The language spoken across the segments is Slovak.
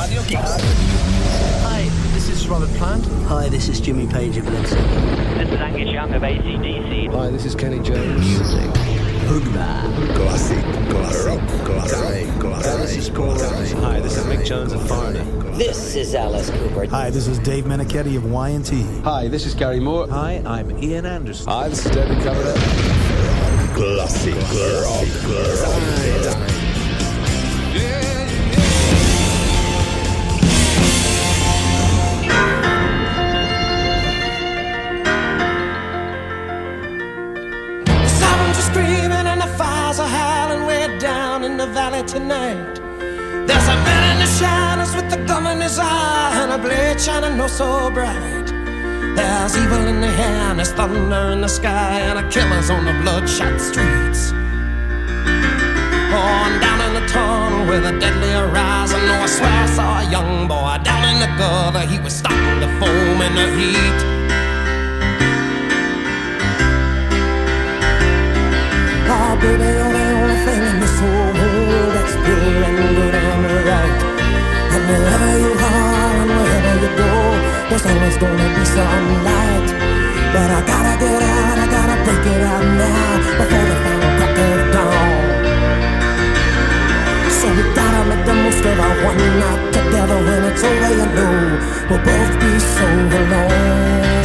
Radio Kicks. Hi, this is Robert Plant. Hi, this is Jimmy Page of Led Zeppelin. This is Angus Young of AC/DC. Hi, this is Kenny Jones. Music. Hoogba. Classic. This is Paul Rose. Hi, this is Mick Jones of Foreigner. This is Alice Cooper. Hi, this is Dave Meniketti of Y&T. Hi, this is Gary Moore. Hi, I'm Ian Anderson. Hi, this is David Coverdale. Classic rock. In the valley tonight, there's a man in the shadows with a gun in his eye and a blade shining oh so bright. There's evil in the air and there's thunder in the sky and a killer's on the bloodshot streets. Oh, and down in the tunnel with a deadly horizon, oh, I swear I saw a young boy down in the gutter. He was starting to foam in the heat. Oh, baby, you're the only thing in this whole world that's pure and good and right. And wherever you are and wherever you go, there's always gonna be some light. But I gotta get out, I gotta break it out now before the final crack of dawn. So we gotta make the most of our one night together. When it's over, you know we'll both be so alone.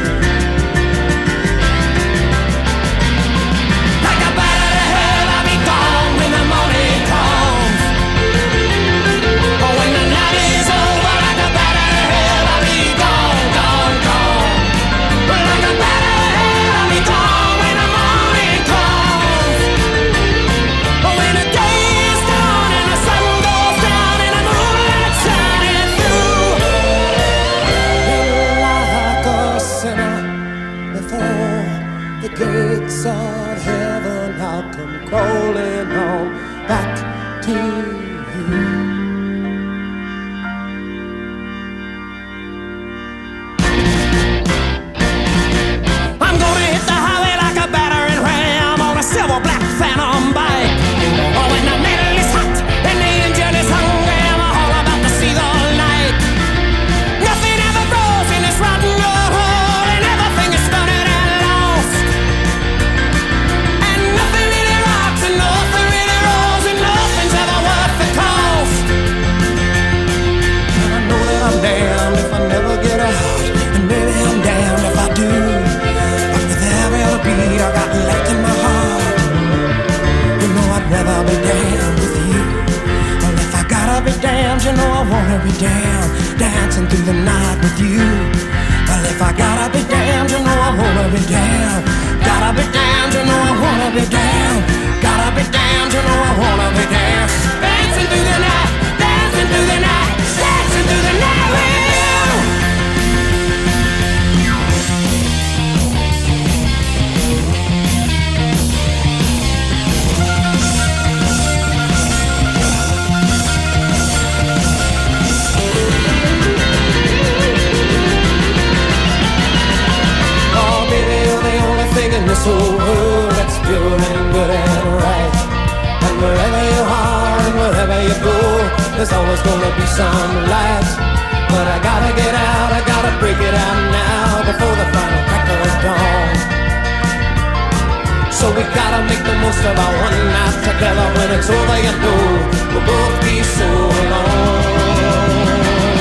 Gates of heaven, I'll come crawling on back to you. I'm gonna hit the highway like a battering ram on a silver black phantom bike. Oh, when the metal is hot and the engine is hungry, I'm all about to see the light. Nothing ever grows in this rotten old hole, and everything is stunted and lost. I'm damned if I never get out, and maybe I'm damned if I do. But with every other beat I got left in my heart, you know I'd rather be damned with you. Well, if I gotta be damned, you know I wanna be damned, dancing through the night with you. Well, if I gotta be damned, you know I wanna be damned. Gotta be damned, you know I wanna be damned. Gotta be damned, you know I wanna be damned. Dancing through the night, dancing through the night, dancing through the night with you. Oh, baby, you're the only thing in this whole world that's pure and good and right. And wherever you are and wherever you go, there's always gonna be some light. But I gotta get out, I gotta break it out now before the final crack of dawn. So we gotta make the most of our one night together. When it's over, you know we'll both be so alone.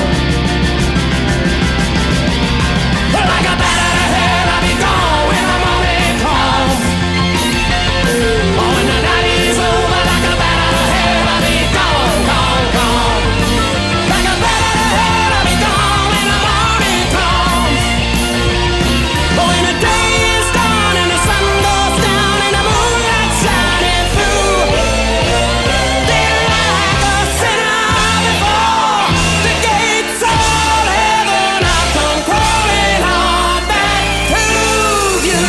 Like a bat out of hell, I'll be gone when the morning comes. Oh, when the night is over, like a bat out of hell, I'll be gone, gone, gone. Like a bat out of hell, I'll be gone when the morning comes. Oh, when the day is done and the sun goes down and the moonlight shining through, they're like a sinner before the gates of heaven. I'll come crawling on back to you.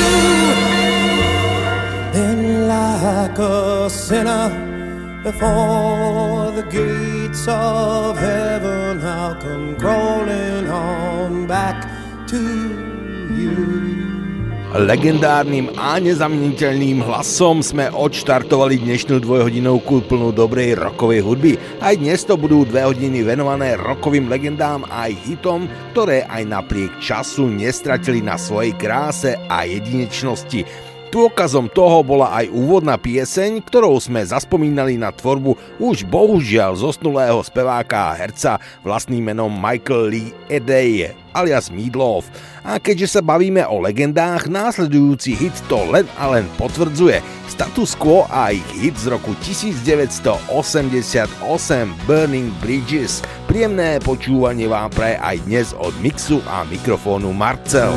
Then like a sinner before the gates of heaven, I'll come crawling on back to you. Legendárnym a nezameniteľným hlasom sme odštartovali dnešnú dvojhodinovku plnú dobrej rockovej hudby. Aj dnes to budú 2 hodiny venované rockovým legendám a aj hitom, ktoré aj napriek času nestratili na svojej kráse a jedinečnosti. Dôkazom toho bola aj úvodná pieseň, ktorou sme zaspomínali na tvorbu už bohužiaľ zosnulého speváka a herca vlastným menom Michael Lee Edey alias Meatloaf. A keďže sa bavíme o legendách, následujúci hit to len a len potvrdzuje. Status Quo a ich hit z roku 1988 Burning Bridges. Príjemné počúvanie vám praje aj dnes od mixu a mikrofónu Marcel.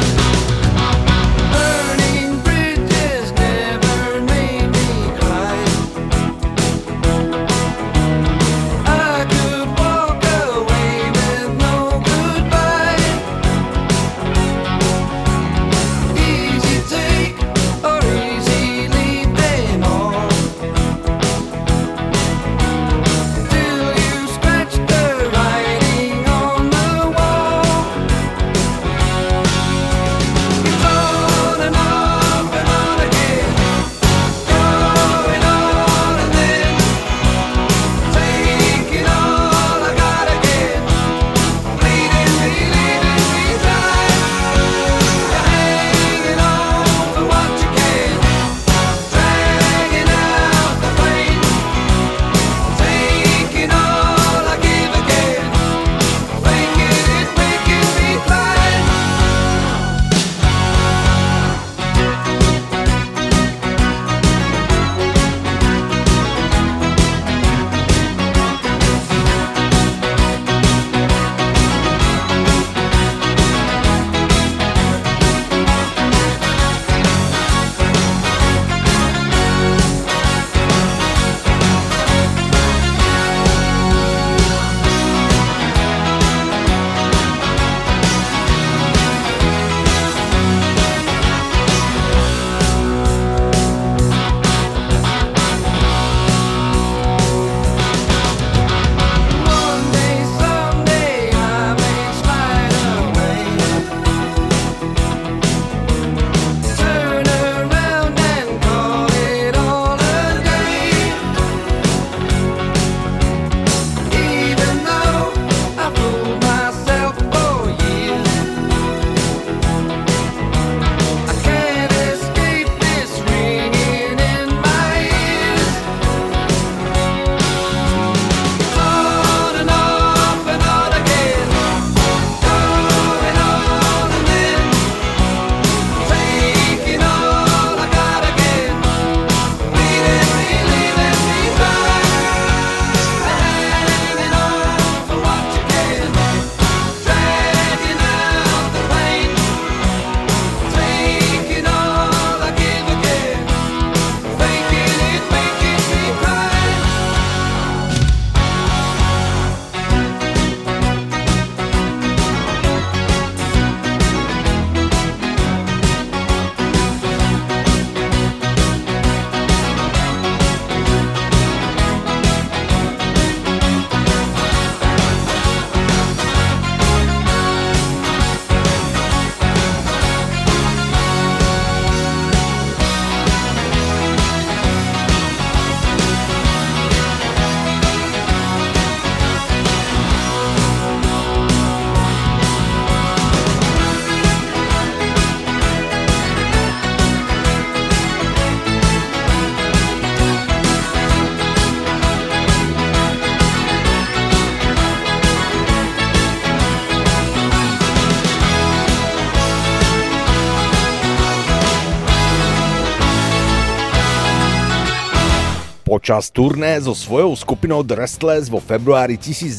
Počas turné so svojou skupinou The Restless vo februári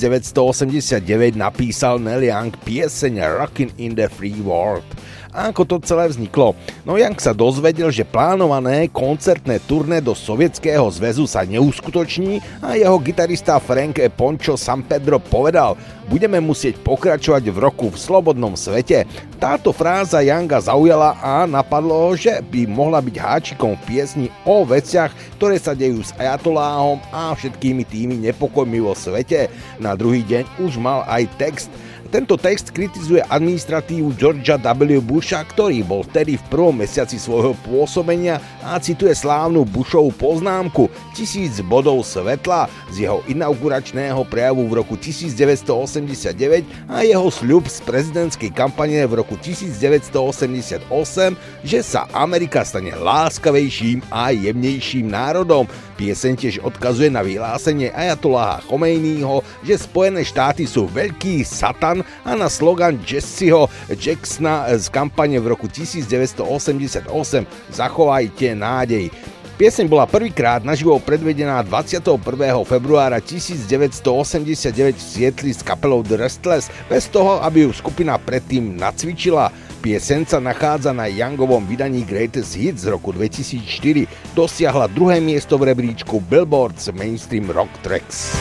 1989 napísal Neil Young pieseň Rockin' in the Free World. A ako to celé vzniklo? No Young sa dozvedel, že plánované koncertné turné do Sovietskeho zväzu sa neuskutoční a jeho gitarista Frank Poncho Sampedro povedal: budeme musieť pokračovať v roku v slobodnom svete. Táto fráza Younga zaujala a napadlo ho, že by mohla byť háčikom v piesni o veciach, ktoré sa dejú s ajatoláhom a všetkými tými nepokojmi vo svete. Na druhý deň už mal aj text. Tento text kritizuje administratívu Georgea W. Busha, ktorý bol vtedy v prvom mesiaci svojho pôsobenia a cituje slávnu Bushovú poznámku 1000 bodov svetla z jeho inauguračného prejavu v roku 1989 a jeho sľub z prezidentskej kampane v roku 1988, že sa Amerika stane láskavejším a jemnejším národom. Pieseň tiež odkazuje na vyhlásenie ajatoláha Chomejního, že Spojené štáty sú veľký satan a na slogan Jesseho Jacksona z kampane v roku 1988 Zachovajte nádej. Pieseň bola prvýkrát naživo predvedená 21. februára 1989 v Sietli s kapelou The Restless, bez toho, aby ju skupina predtým nacvičila. Pieseň sa nachádza na Youngovom vydaní Greatest Hits z roku 2004. Dosiahla 2. miesto v rebríčku Billboard's Mainstream Rock Tracks.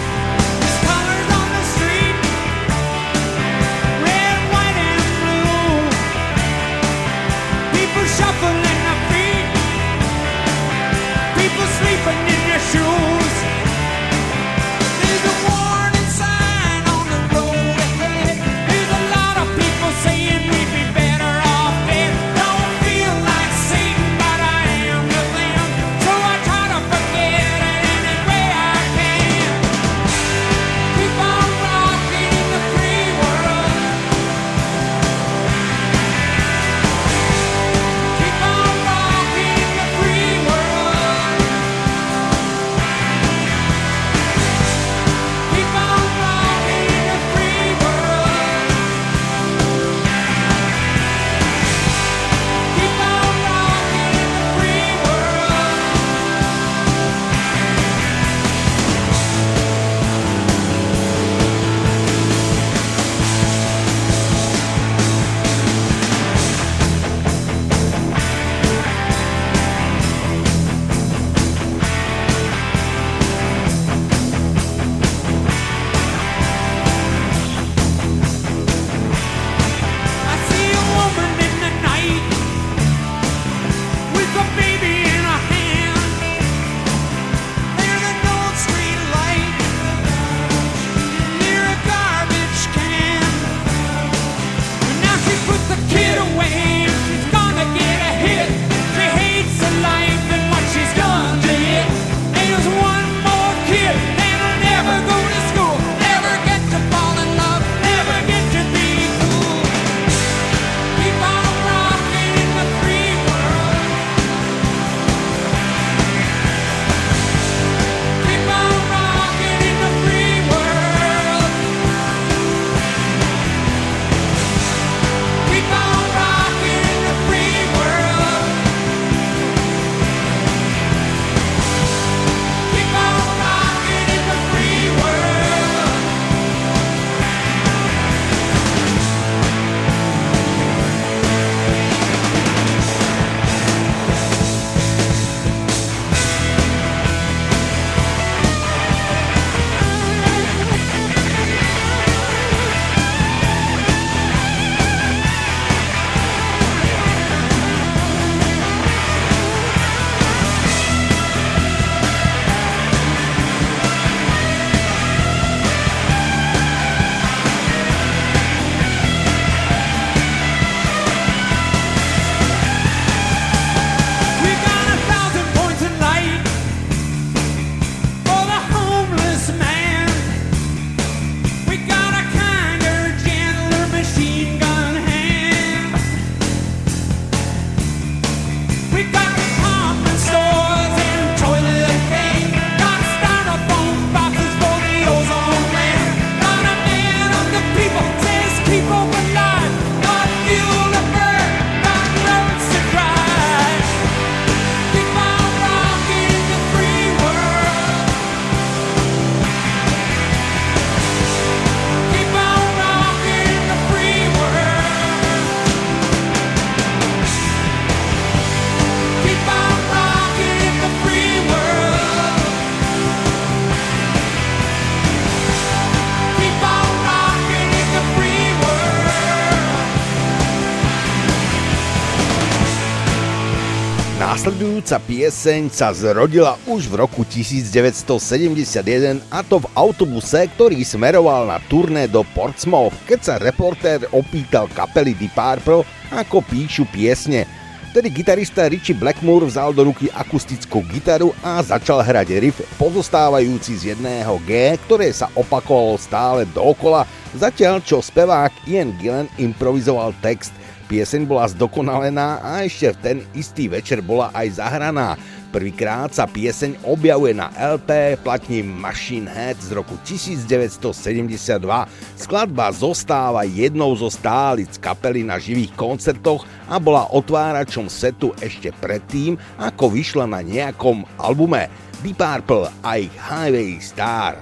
Nasledujúca pieseň sa zrodila už v roku 1971, a to v autobuse, ktorý smeroval na turné do Portsmouth, keď sa reportér opýtal kapely Deep Purple, ako píšu piesne. Tedy gitarista Ritchie Blackmore vzal do ruky akustickú gitaru a začal hrať riff pozostávajúci z jedného G, ktoré sa opakovalo stále dookola, zatiaľ čo spevák Ian Gillan improvizoval text. Pieseň bola zdokonalená a ešte v ten istý večer bola aj zahraná. Prvýkrát sa pieseň objavuje na LP platni Machine Head z roku 1972. Skladba zostáva jednou zo stálic kapely na živých koncertoch a bola otváračom setu ešte predtým, ako vyšla na nejakom albume. Deep Purple a ich Highway Star.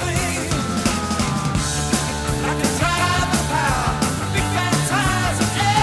Big bad tires and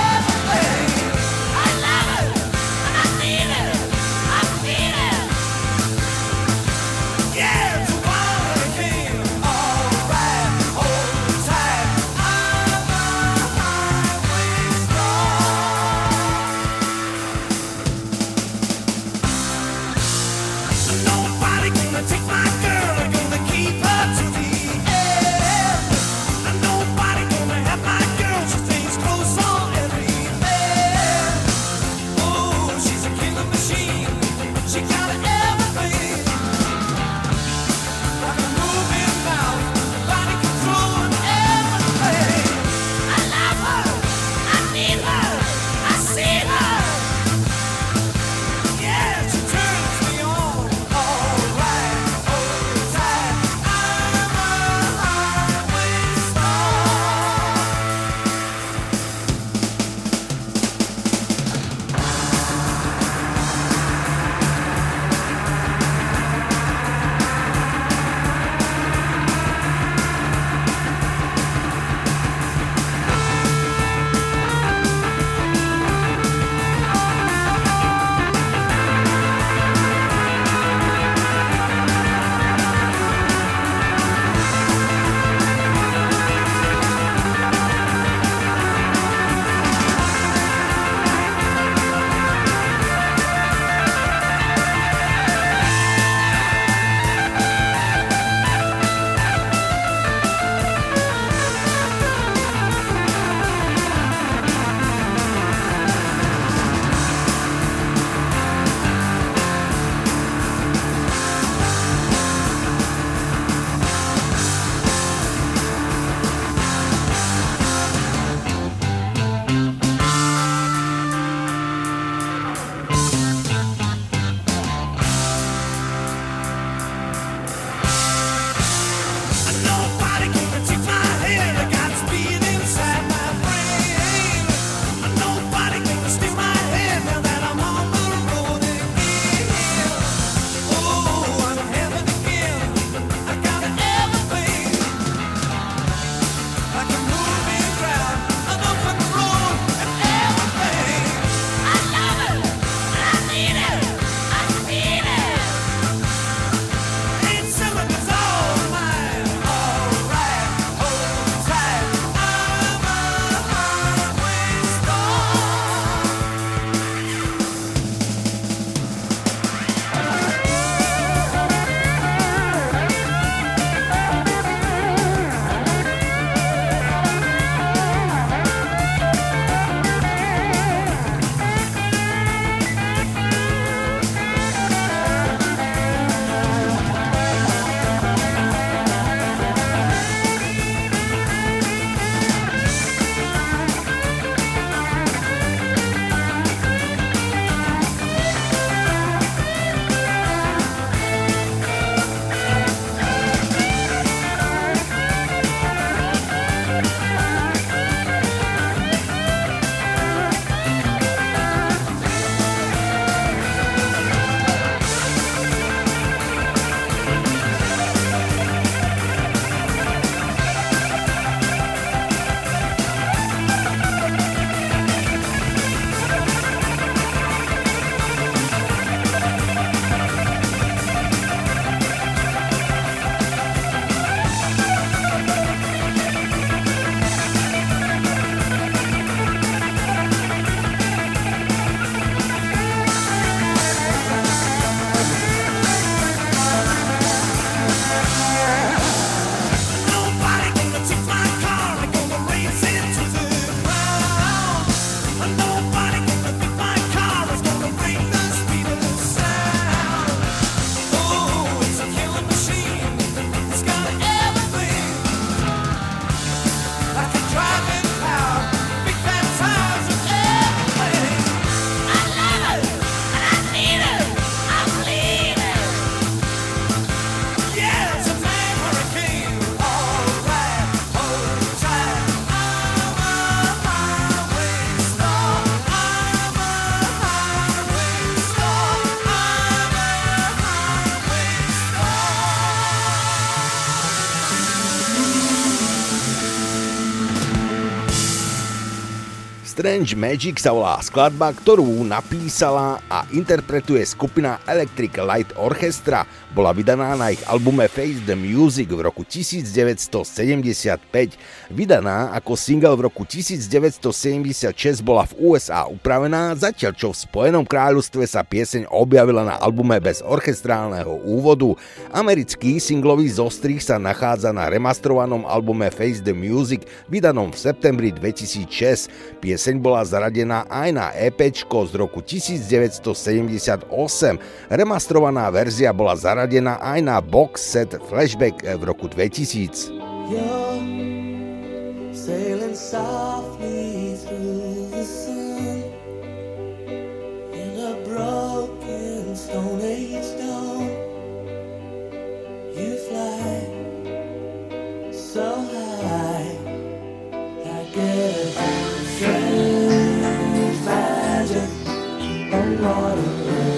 Strange Magic sa volá skladba, ktorú napísala a interpretuje skupina Electric Light Orchestra. Bola vydaná na ich albume Face the Music v roku 1975. Vydaná ako single v roku 1976 bola v USA upravená, zatiaľ čo v Spojenom kráľovstve sa pieseň objavila na albume bez orchestrálneho úvodu. Americký singlový zostrih sa nachádza na remastrovanom albume Face the Music, vydanom v septembri 2006. Pieseň bola zaradená aj na EPčko z roku 1978. Remastrovaná verzia bola zaradená aj na box set Flashback v roku 2000. You're sailing softly through the sun in a broken Stone Age dawn. You fly so high, I get a strange magic on water.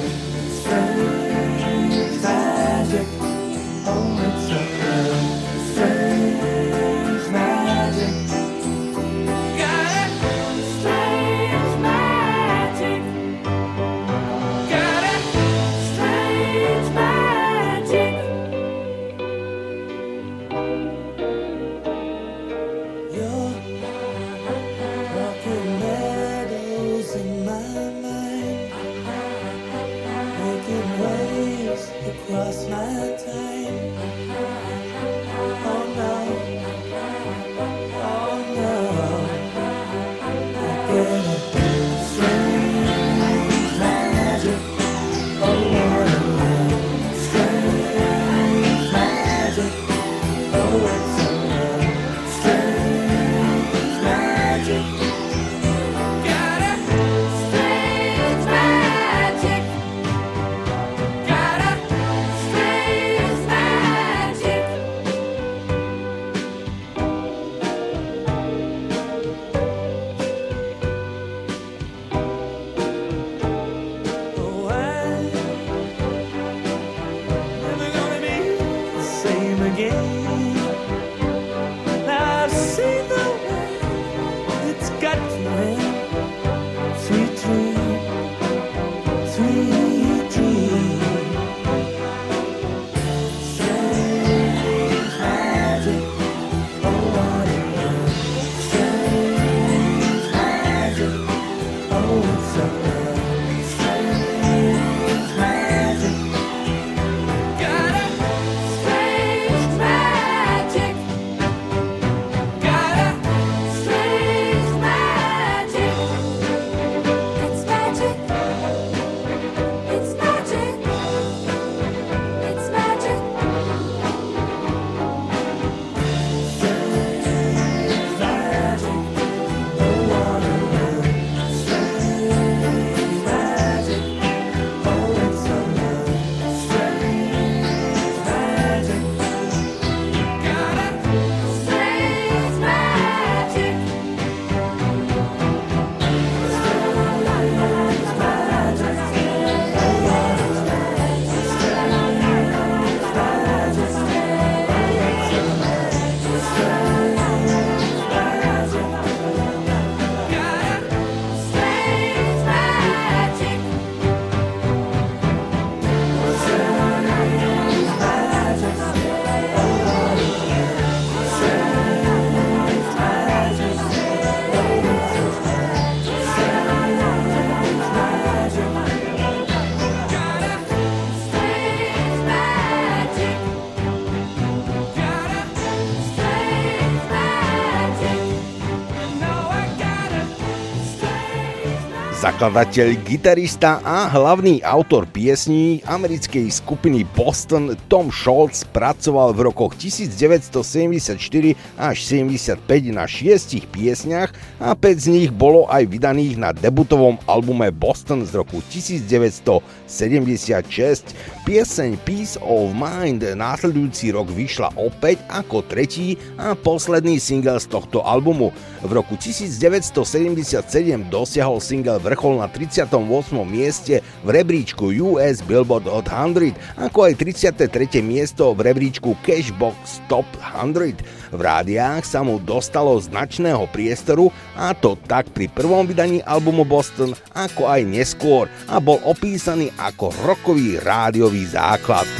Strange magic, oh it's a strange magic. Got it, strange magic. Got it, strange magic. You're rocking meadows in my mind, making waves across my time. Oh no, oh no, I get a strange magic. Oh what a strange magic. Oh it's a strange magic. Got a strange magic. Got a strange magic. Oh, I'm never gonna be the same again. Now I've seen the way it's got to end. Sweet dream, sweet dream. Strange magic, oh what a strange magic. Oh it's a strange magic. Got a strange magic. Got a strange magic. It's magic. It's magic. It's magic. Strange magic. Oh what a strange magic. Oh it's a strange magic. Got a strange magic. Zakladateľ, gitarista a hlavný autor piesní americkej skupiny Boston Tom Scholz pracoval v rokoch 1974 až 75 na 6 piesniach a 5 z nich bolo aj vydaných na debutovom albume Boston z roku 1976. Pieseň Peace of Mind následujúci rok vyšla opäť ako tretí a posledný single z tohto albumu. V roku 1977 dosiahol single vrchol na 38. mieste v rebríčku US Billboard Hot 100, ako aj 33. miesto v rebríčku Cashbox Top 100. V rádiách sa mu dostalo značného priestoru, a to tak pri prvom vydaní albumu Boston, ako aj neskôr, a bol opísaný ako rockový rádiový základ.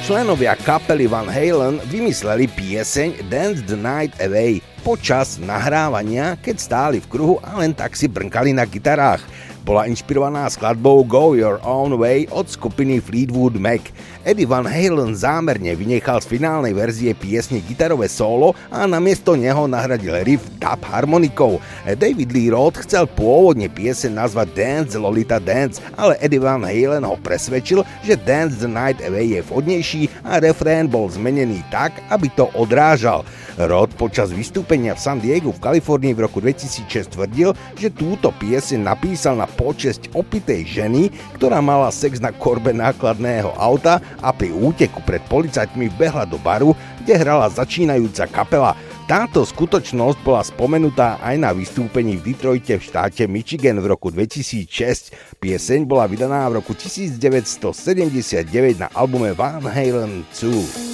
Členovia kapely Van Halen vymysleli pieseň Dance the Night Away počas nahrávania, keď stáli v kruhu a len tak si brnkali na gitarách. Bola inšpirovaná skladbou Go Your Own Way od skupiny Fleetwood Mac. Eddie Van Halen zámerne vynechal z finálnej verzie piesne gitarové solo a namiesto neho nahradil riff dub harmonikou. David Lee Roth chcel pôvodne pieseň nazvať Dance Lolita Dance, ale Eddie Van Halen ho presvedčil, že Dance the Night Away je vhodnejší a refrén bol zmenený tak, aby to odrážal. Roth počas vystúpenia v San Diegu v Kalifornii v roku 2006 tvrdil, že túto pieseň napísal na počesť opitej ženy, ktorá mala sex na korbe nákladného auta a pri úteku pred policajtmi behla do baru, kde hrala začínajúca kapela. Táto skutočnosť bola spomenutá aj na vystúpení v Detroite v štáte Michigan v roku 2006. Pieseň bola vydaná v roku 1979 na albume Van Halen 2.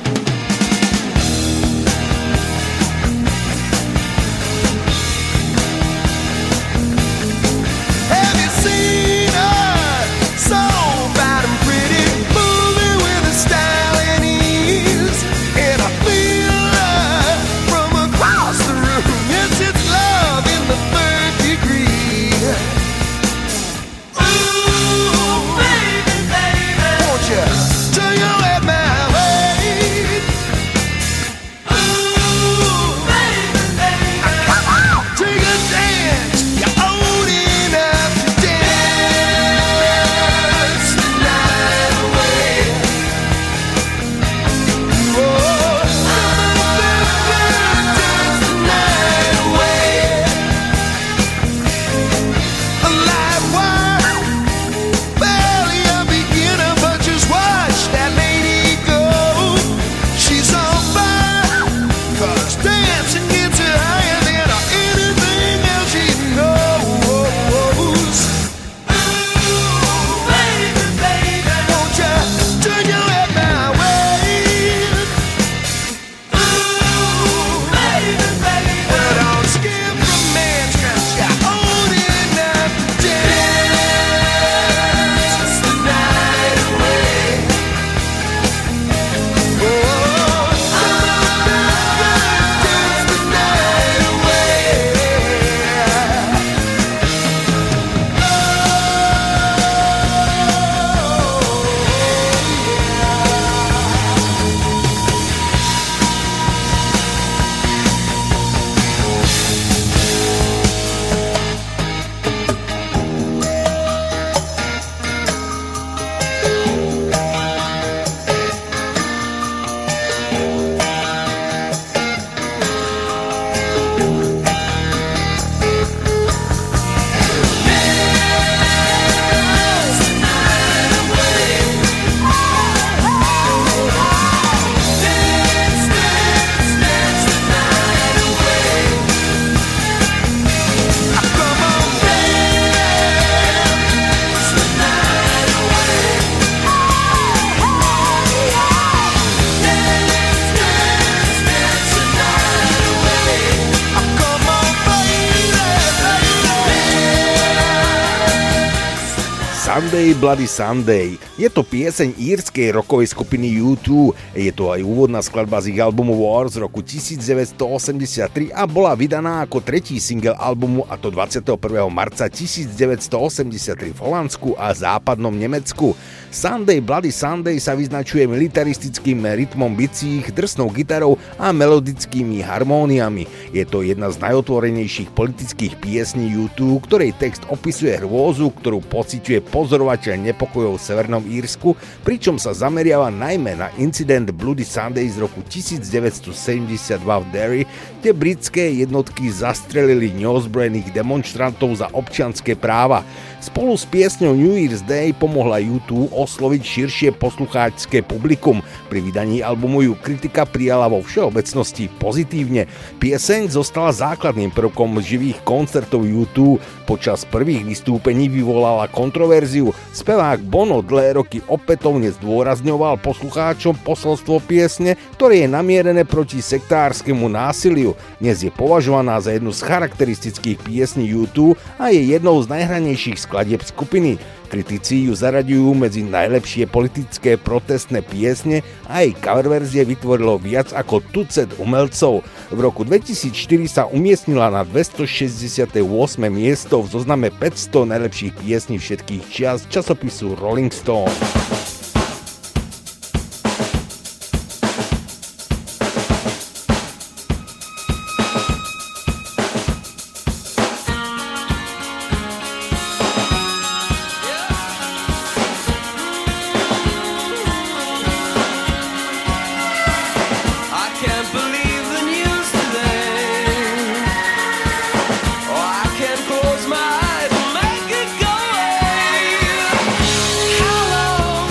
Sunday Bloody Sunday. Je to pieseň írskej rockovej skupiny U2. Je to aj úvodná skladba z ich albumu War z roku 1983 a bola vydaná ako tretí single albumu, a to 21. marca 1983 v Holandsku a západnom Nemecku. Sunday Bloody Sunday sa vyznačuje militaristickým rytmom bicích, drsnou gitarou a melodickými harmóniami. Je to jedna z najotvorenejších politických piesní U2, ktorej text opisuje hrôzu, ktorú pociťuje pozorovateľ nepokojov v Severnom Írsku, pričom sa zameriava najmä na incident Bloody Sunday z roku 1972 v Derry, kde britské jednotky zastrelili neozbrojených demonštrantov za občianske práva. Spolu s piesňou New Year's Day pomohla U2 osloviť širšie poslucháčske publikum. Pri vydaní albumu ju kritika prijala vo všeobecnosti pozitívne. Pieseň zostala základným prvkom živých koncertov U2. Počas prvých vystúpení vyvolala kontroverziu. Spevák Bono dlhé roky opätovne zdôrazňoval poslucháčom posolstvo piesne, ktoré je namierené proti sektárskemu násiliu. Dnes je považovaná za jednu z charakteristických piesní U2 a je jednou z najhranejších skladieb skupiny. Kritici ju zaraďujú medzi najlepšie politické protestné piesne a jej coververzie vytvorilo viac ako tucet umelcov. V roku 2004 sa umiestnila na 268. miesto v zozname 500 najlepších piesní všetkých čias časopisu Rolling Stone. Close my eyes and make it go away. How long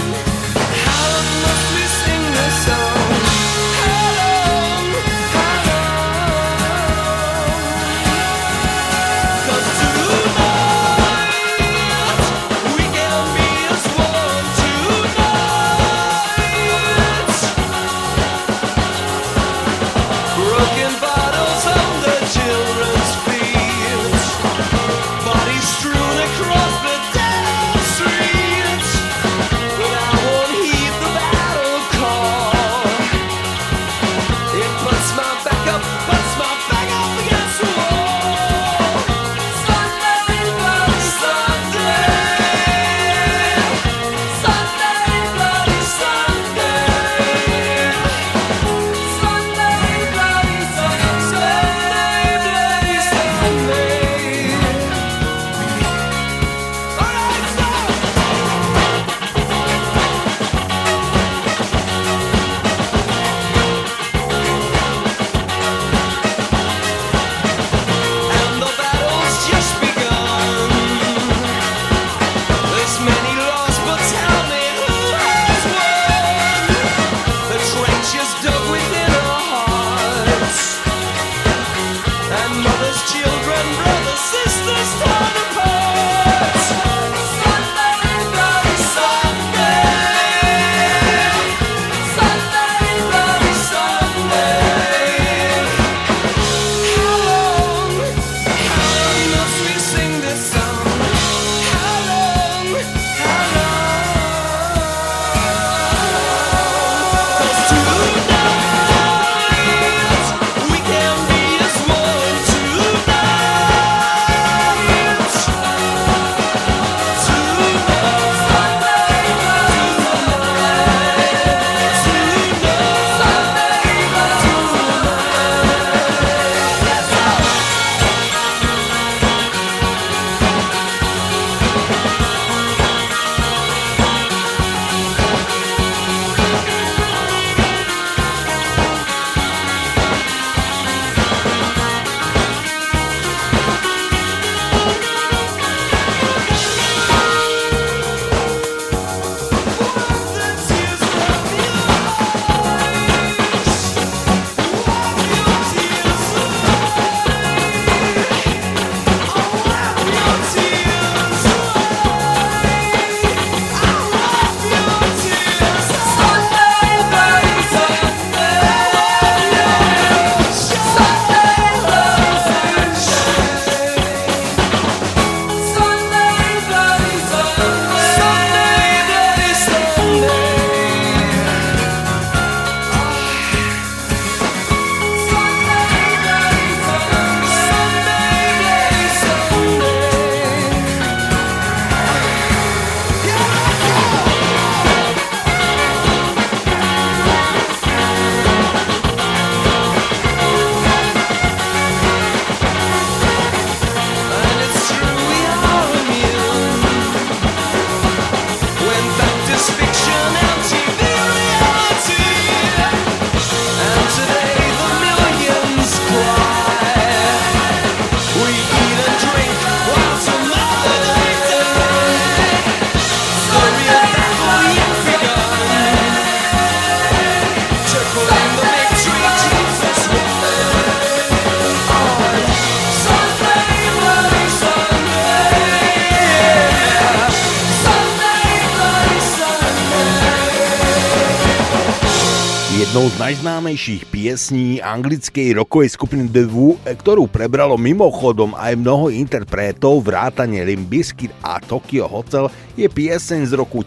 Jednou z najznámejších piesní anglickej rockovej skupiny The Who, ktorú prebralo mimochodom aj mnoho interpretov vrátane Limp Bizkit a Tokyo Hotel, je pieseň z roku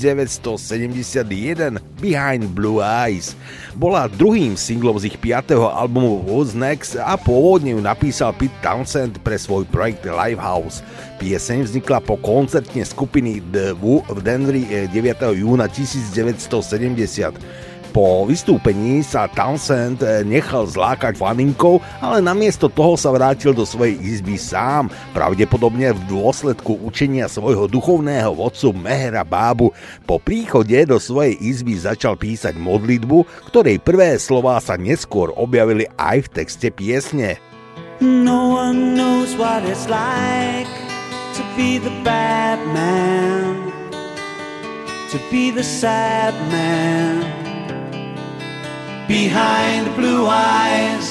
1971 Behind Blue Eyes. Bola druhým singlom z ich 5. albumu Who's Next a pôvodne ju napísal Pete Townshend pre svoj projekt Lifehouse. Pieseň vznikla po koncerte skupiny The Who v Denveri 9. júna 1970. Po vystúpení sa Townshend nechal zlákať faninkou, ale namiesto toho sa vrátil do svojej izby sám, pravdepodobne v dôsledku učenia svojho duchovného vodcu Mehera Bábu. Po príchode do svojej izby začal písať modlitbu, ktorej prvé slová sa neskôr objavili aj v texte piesne. No one knows what it's like to be the bad man, to be the sad man behind the blue eyes.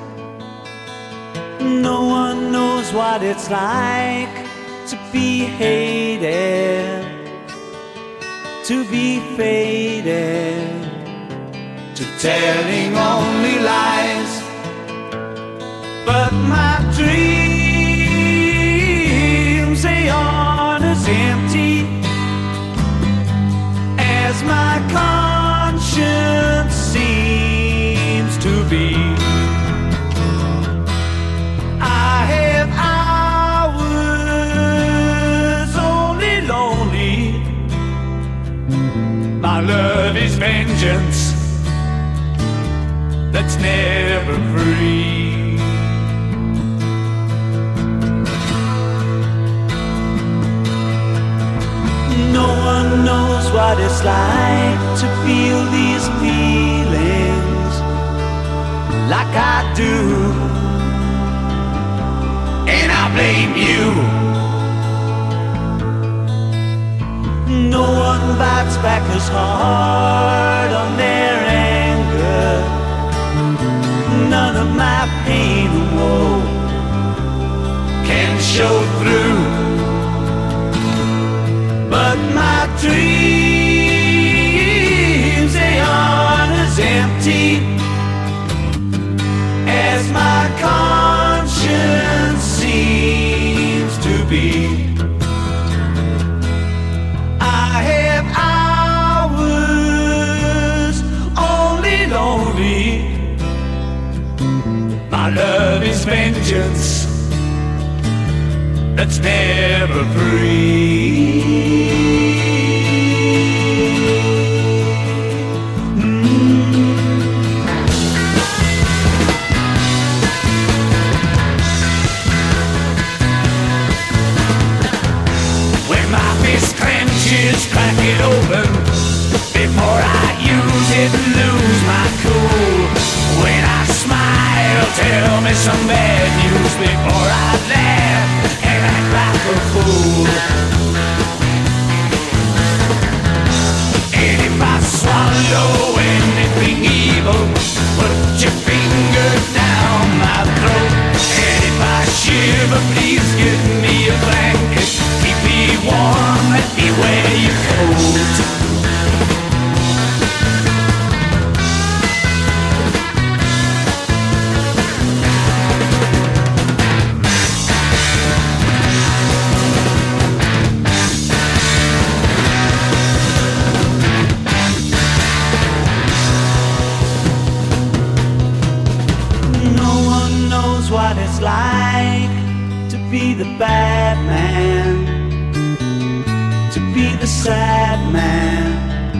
No one knows what it's like to be hated, to be faded, to telling only lies. But my dreams, they aren't as empty as my conscience seems to be. I have hours only lonely. My love is vengeance that's never free. No one knows what it's like to feel these feelings like I do, and I blame you. No one bites back as hard on their anger. None of my pain and woe can show through. But my dreams, they aren't as empty as my conscience seems to be. I have hours only lonely. My love is vengeance that's never free. When my fist clenches, crack it open before I use it and lose my cool. When I smile, tell me some bad news before I laugh and act like a fool. And if I swallow anything evil, put your finger down my throat. And if I shiver, please give me a blanket. Keep me warm, let me wear your coat. What it's like to be the bad man, to be the sad man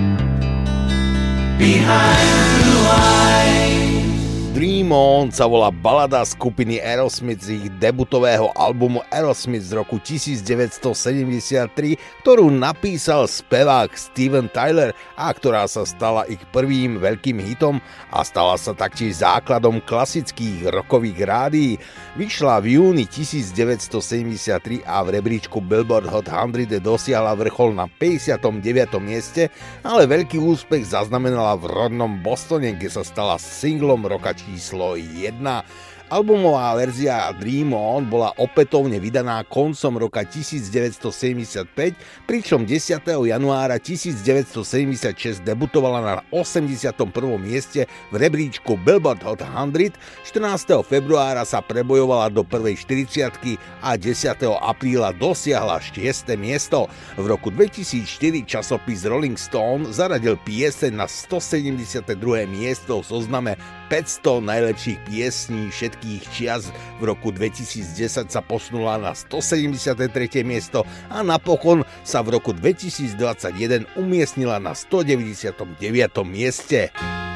behind blue eyes. Dream On sa volá balada skupiny Aerosmith z ich debutového albumu Aerosmith z roku 1973, ktorú napísal spevák Steven Tyler a ktorá sa stala ich prvým veľkým hitom a stala sa taktiež základom klasických rockových rádií. Vyšla v júni 1973 a v rebríčku Billboard Hot 100 dosiahla vrchol na 59. mieste, ale veľký úspech zaznamenala v rodnom Bostone, kde sa stala singlom roka číslo 1. Albumová verzia Dream On bola opätovne vydaná koncom roka 1975, pričom 10. januára 1976 debutovala na 81. mieste v rebríčku Billboard Hot 100, 14. februára sa prebojovala do prvej 40-ky a 10. apríla dosiahla 6. miesto. V roku 2004 časopis Rolling Stone zaradil pieseň na 172. miesto v zozname 500 najlepších piesní všetkých čias. V roku 2010 sa posunula na 173. miesto a napokon sa v roku 2021 umiestnila na 199. mieste.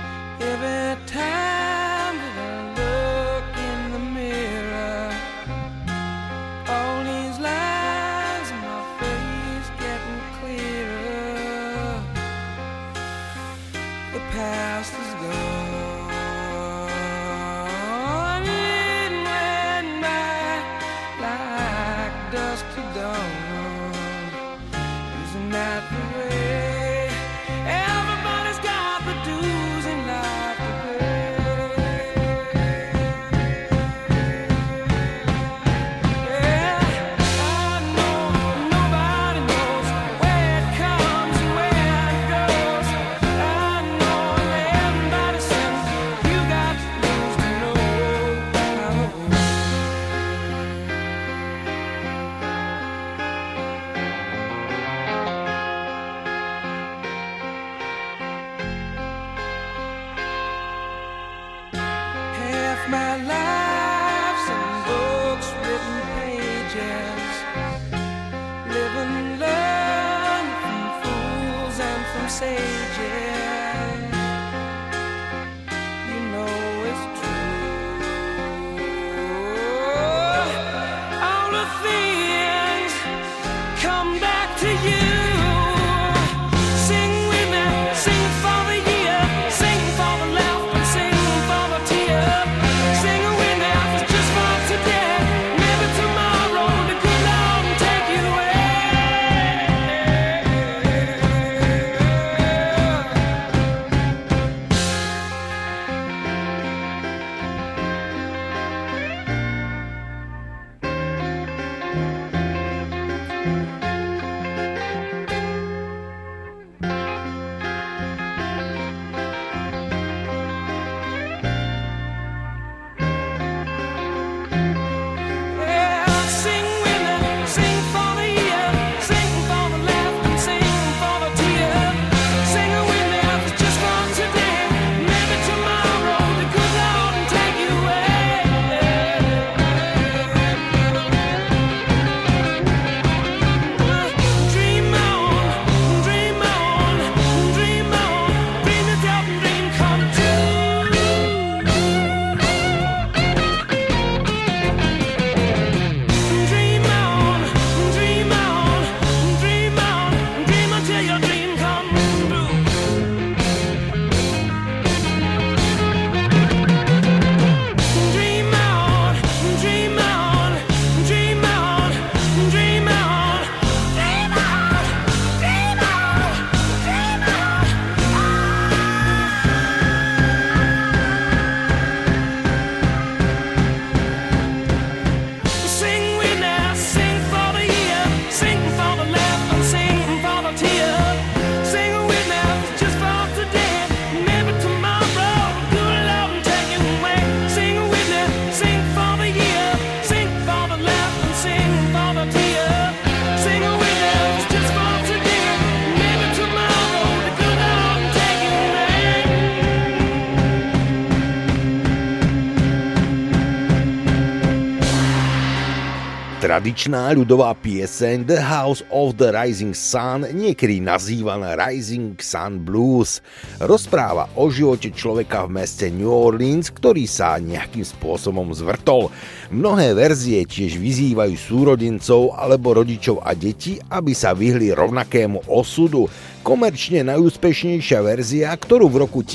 Tradičná ľudová pieseň The House of the Rising Sun, niekedy nazývaná Rising Sun Blues, rozpráva o živote človeka v meste New Orleans, ktorý sa nejakým spôsobom zvrtol. Mnohé verzie tiež vyzývajú súrodencov alebo rodičov a deti, aby sa vyhli rovnakému osudu. Komerčne najúspešnejšia verzia, ktorú v roku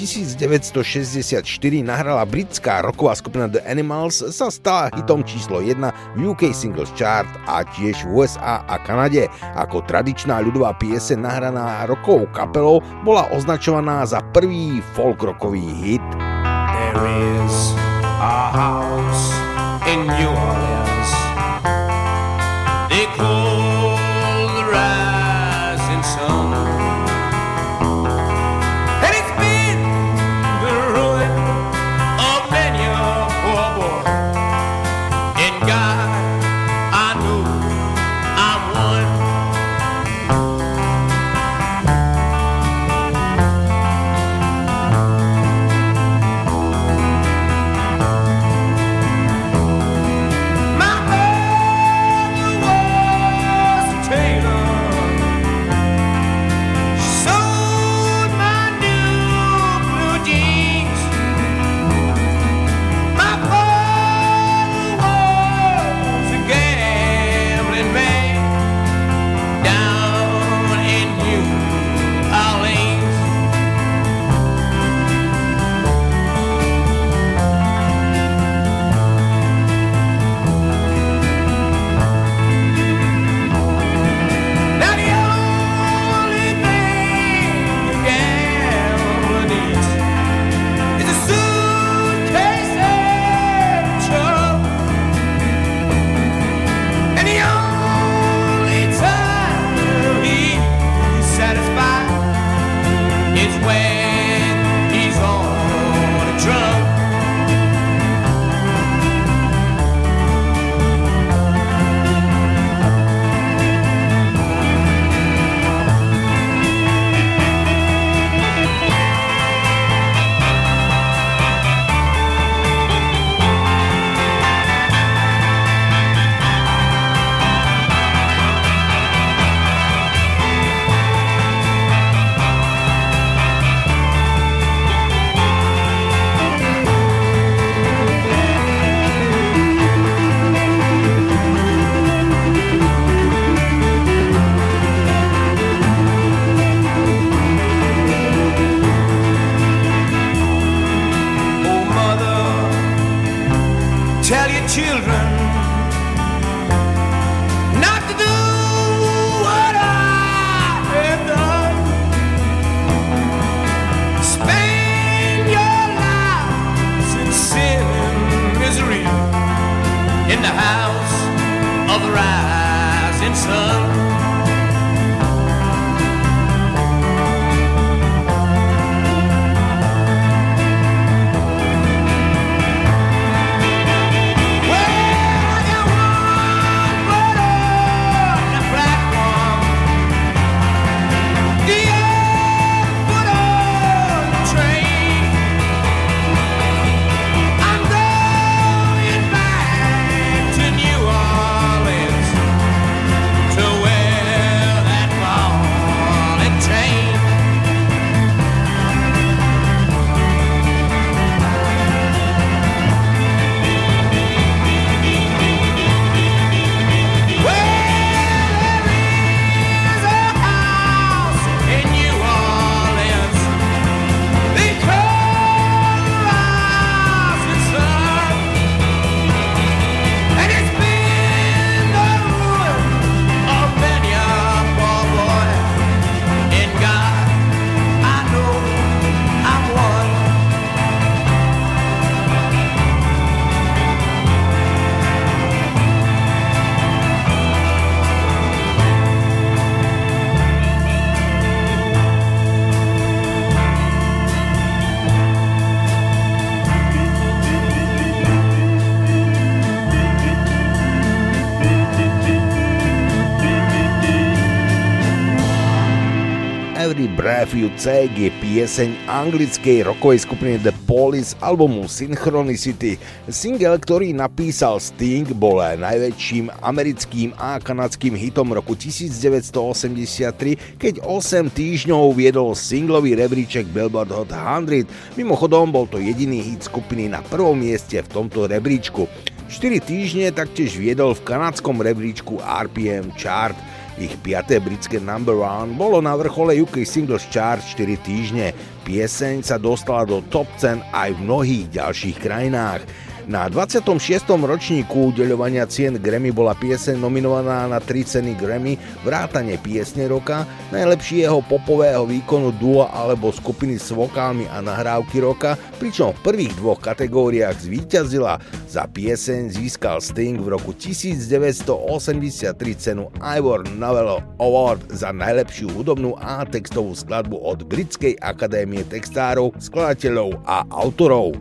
1964 nahrala britská rocková skupina The Animals, sa stala hitom číslo 1 v UK Singles Chart a tiež v USA a Kanade. Ako tradičná ľudová pieseň nahraná rockovou kapelou bola označovaná za prvý folk rockový hit. There is our house in New Orleans. They call the rising sun, and it's been the ruin of many a poor boy. In God, I know I'm one. My mother was a tailor. She sewed my new blue jeans. My father was a gambling man down in New Orleans. Now the only thing a gambler needs is a suitcase and a truck. And the only time he's satisfied is when he's on a drunk. Oh, mother, tell your children not to do what I have done. Spend your lives in sin and misery in the house of the rising sun. Every Breath You Take je pieseň anglickej rockovej skupiny The Police albumu Synchronicity. Single, ktorý napísal Sting, bol najväčším americkým a kanadským hitom roku 1983, keď 8 týždňov viedol singlový rebríček Billboard Hot 100. Mimochodom, bol to jediný hit skupiny na prvom mieste v tomto rebríčku. 4 týždne taktiež viedol v kanadskom rebríčku RPM Chart. Ich 5. britské number one bolo na vrchole UK Singles Chart 4 týždne. Pieseň sa dostala do top 10 aj v mnohých ďalších krajinách. Na 26. ročníku udeľovania cien Grammy bola pieseň nominovaná na 3 ceny Grammy, vrátane piesne roka, najlepšieho popového výkonu dua alebo skupiny s vokálmi a nahrávky roka, pričom v prvých dvoch kategóriách zvíťazila. Za pieseň získal Sting v roku 1983 cenu Ivor Novello Award za najlepšiu hudobnú a textovú skladbu od Britskej akadémie textárov, skladateľov a autorov.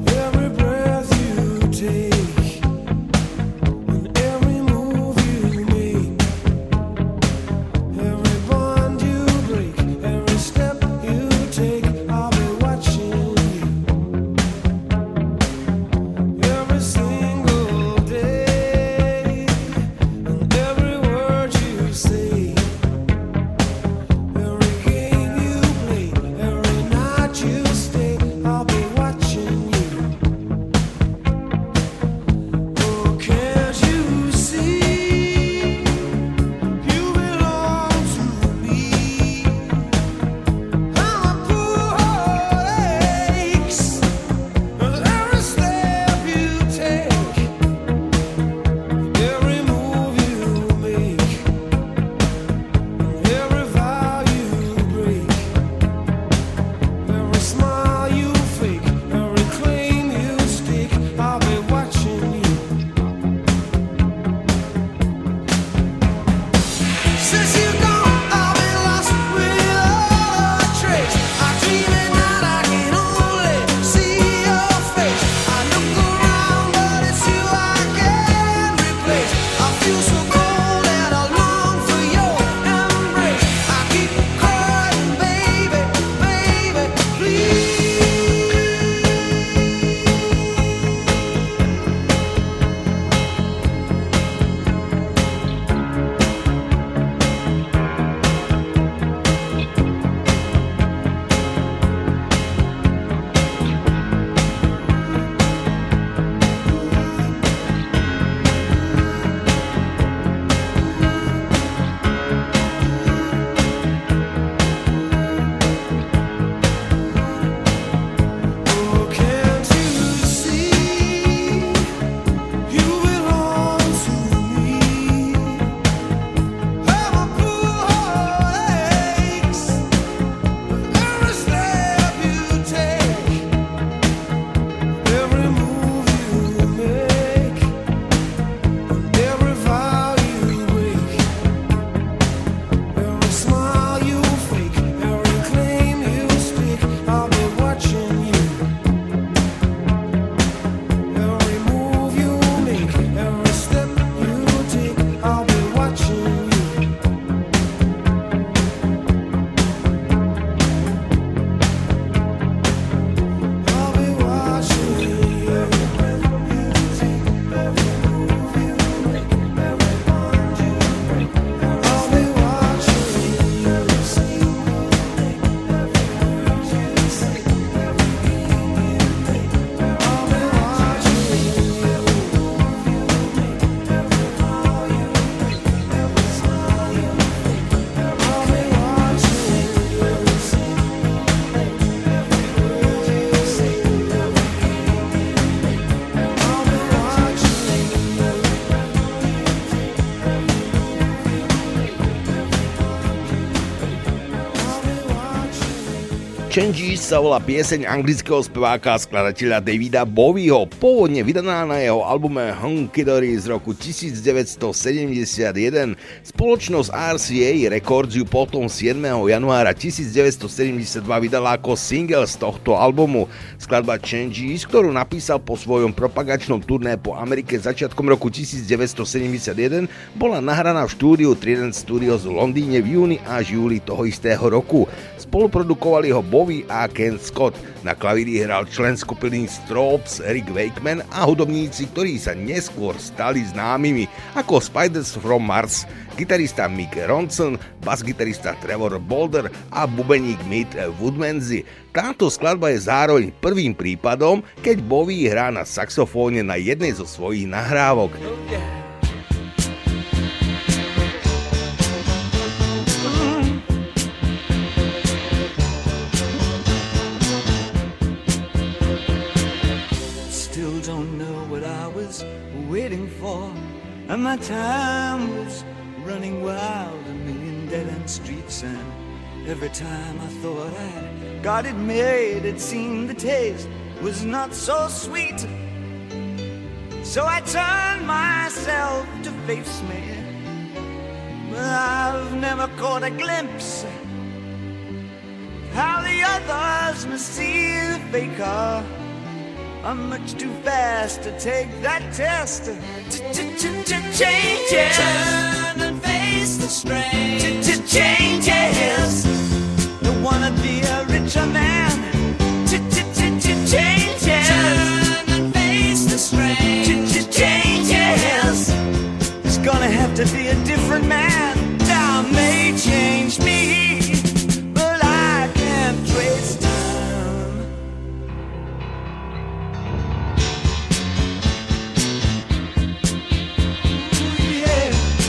Changes sa volá pieseň anglického speváka a skladateľa Davida Bowieho, pôvodne vydaná na jeho albume Hunky Dory z roku 1971. Spoločnosť RCA Records ju potom 7. januára 1972 vydala ako single z tohto albumu. Skladba Changes, ktorú napísal po svojom propagačnom turné po Amerike začiatkom roku 1971, bola nahraná v štúdiu Trident Studios v Londýne v júni až júli toho istého roku. Spoluprodukovali ho Bowie a Ken Scott. Na klavíri hral člen skupiny Stropes Rick Wakeman a hudobníci, ktorí sa neskôr stali známymi ako Spiders from Mars, gitarista Mick Ronson, basgitarista Trevor Bolder a bubeník Mick Woodmansey. Táto skladba je zároveň prvým prípadom, keď Bowie hrá na saxofóne na jednej zo svojich nahrávok. don't know what I was waiting for, and my time was running wild, a million dead-end streets, and every time I thought I'd got it made, it seemed the taste was not so sweet. So I turned myself to face me, but I've never caught a glimpse how the others must see the faker. I'm much too fast to take that test. Changes. Turn and face the strain. Changes. Don't wanna be a richer man. Changes. Turn and face the strain. Changes. It's gonna have to be a different man. Time may change me, but I can't trace time. Yeah.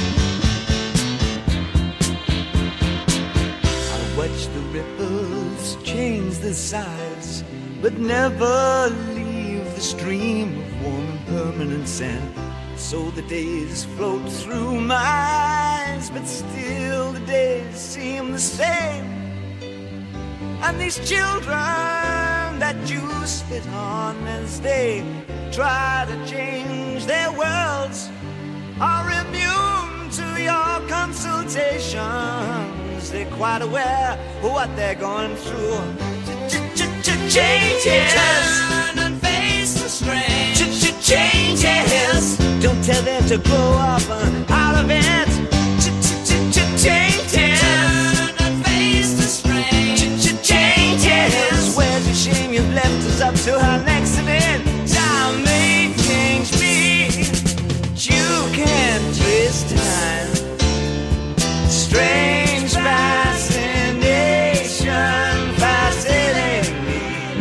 I watch the ripples change the sides, but never leave the stream of warm and permanent sand. So the days float through my eyes, but still the days seem the same. And these children that you spit on as they try to change their worlds are immune to your consultations. They're quite aware of what they're going through. Changes. Turn and face the strain. Changes. Don't tell them to grow up out of it. Changes. Turn and face the strain. Changes. Where's the shame you've left us up to our next event? Time may change me, but you can't twist time. Strange fascination fascinating me.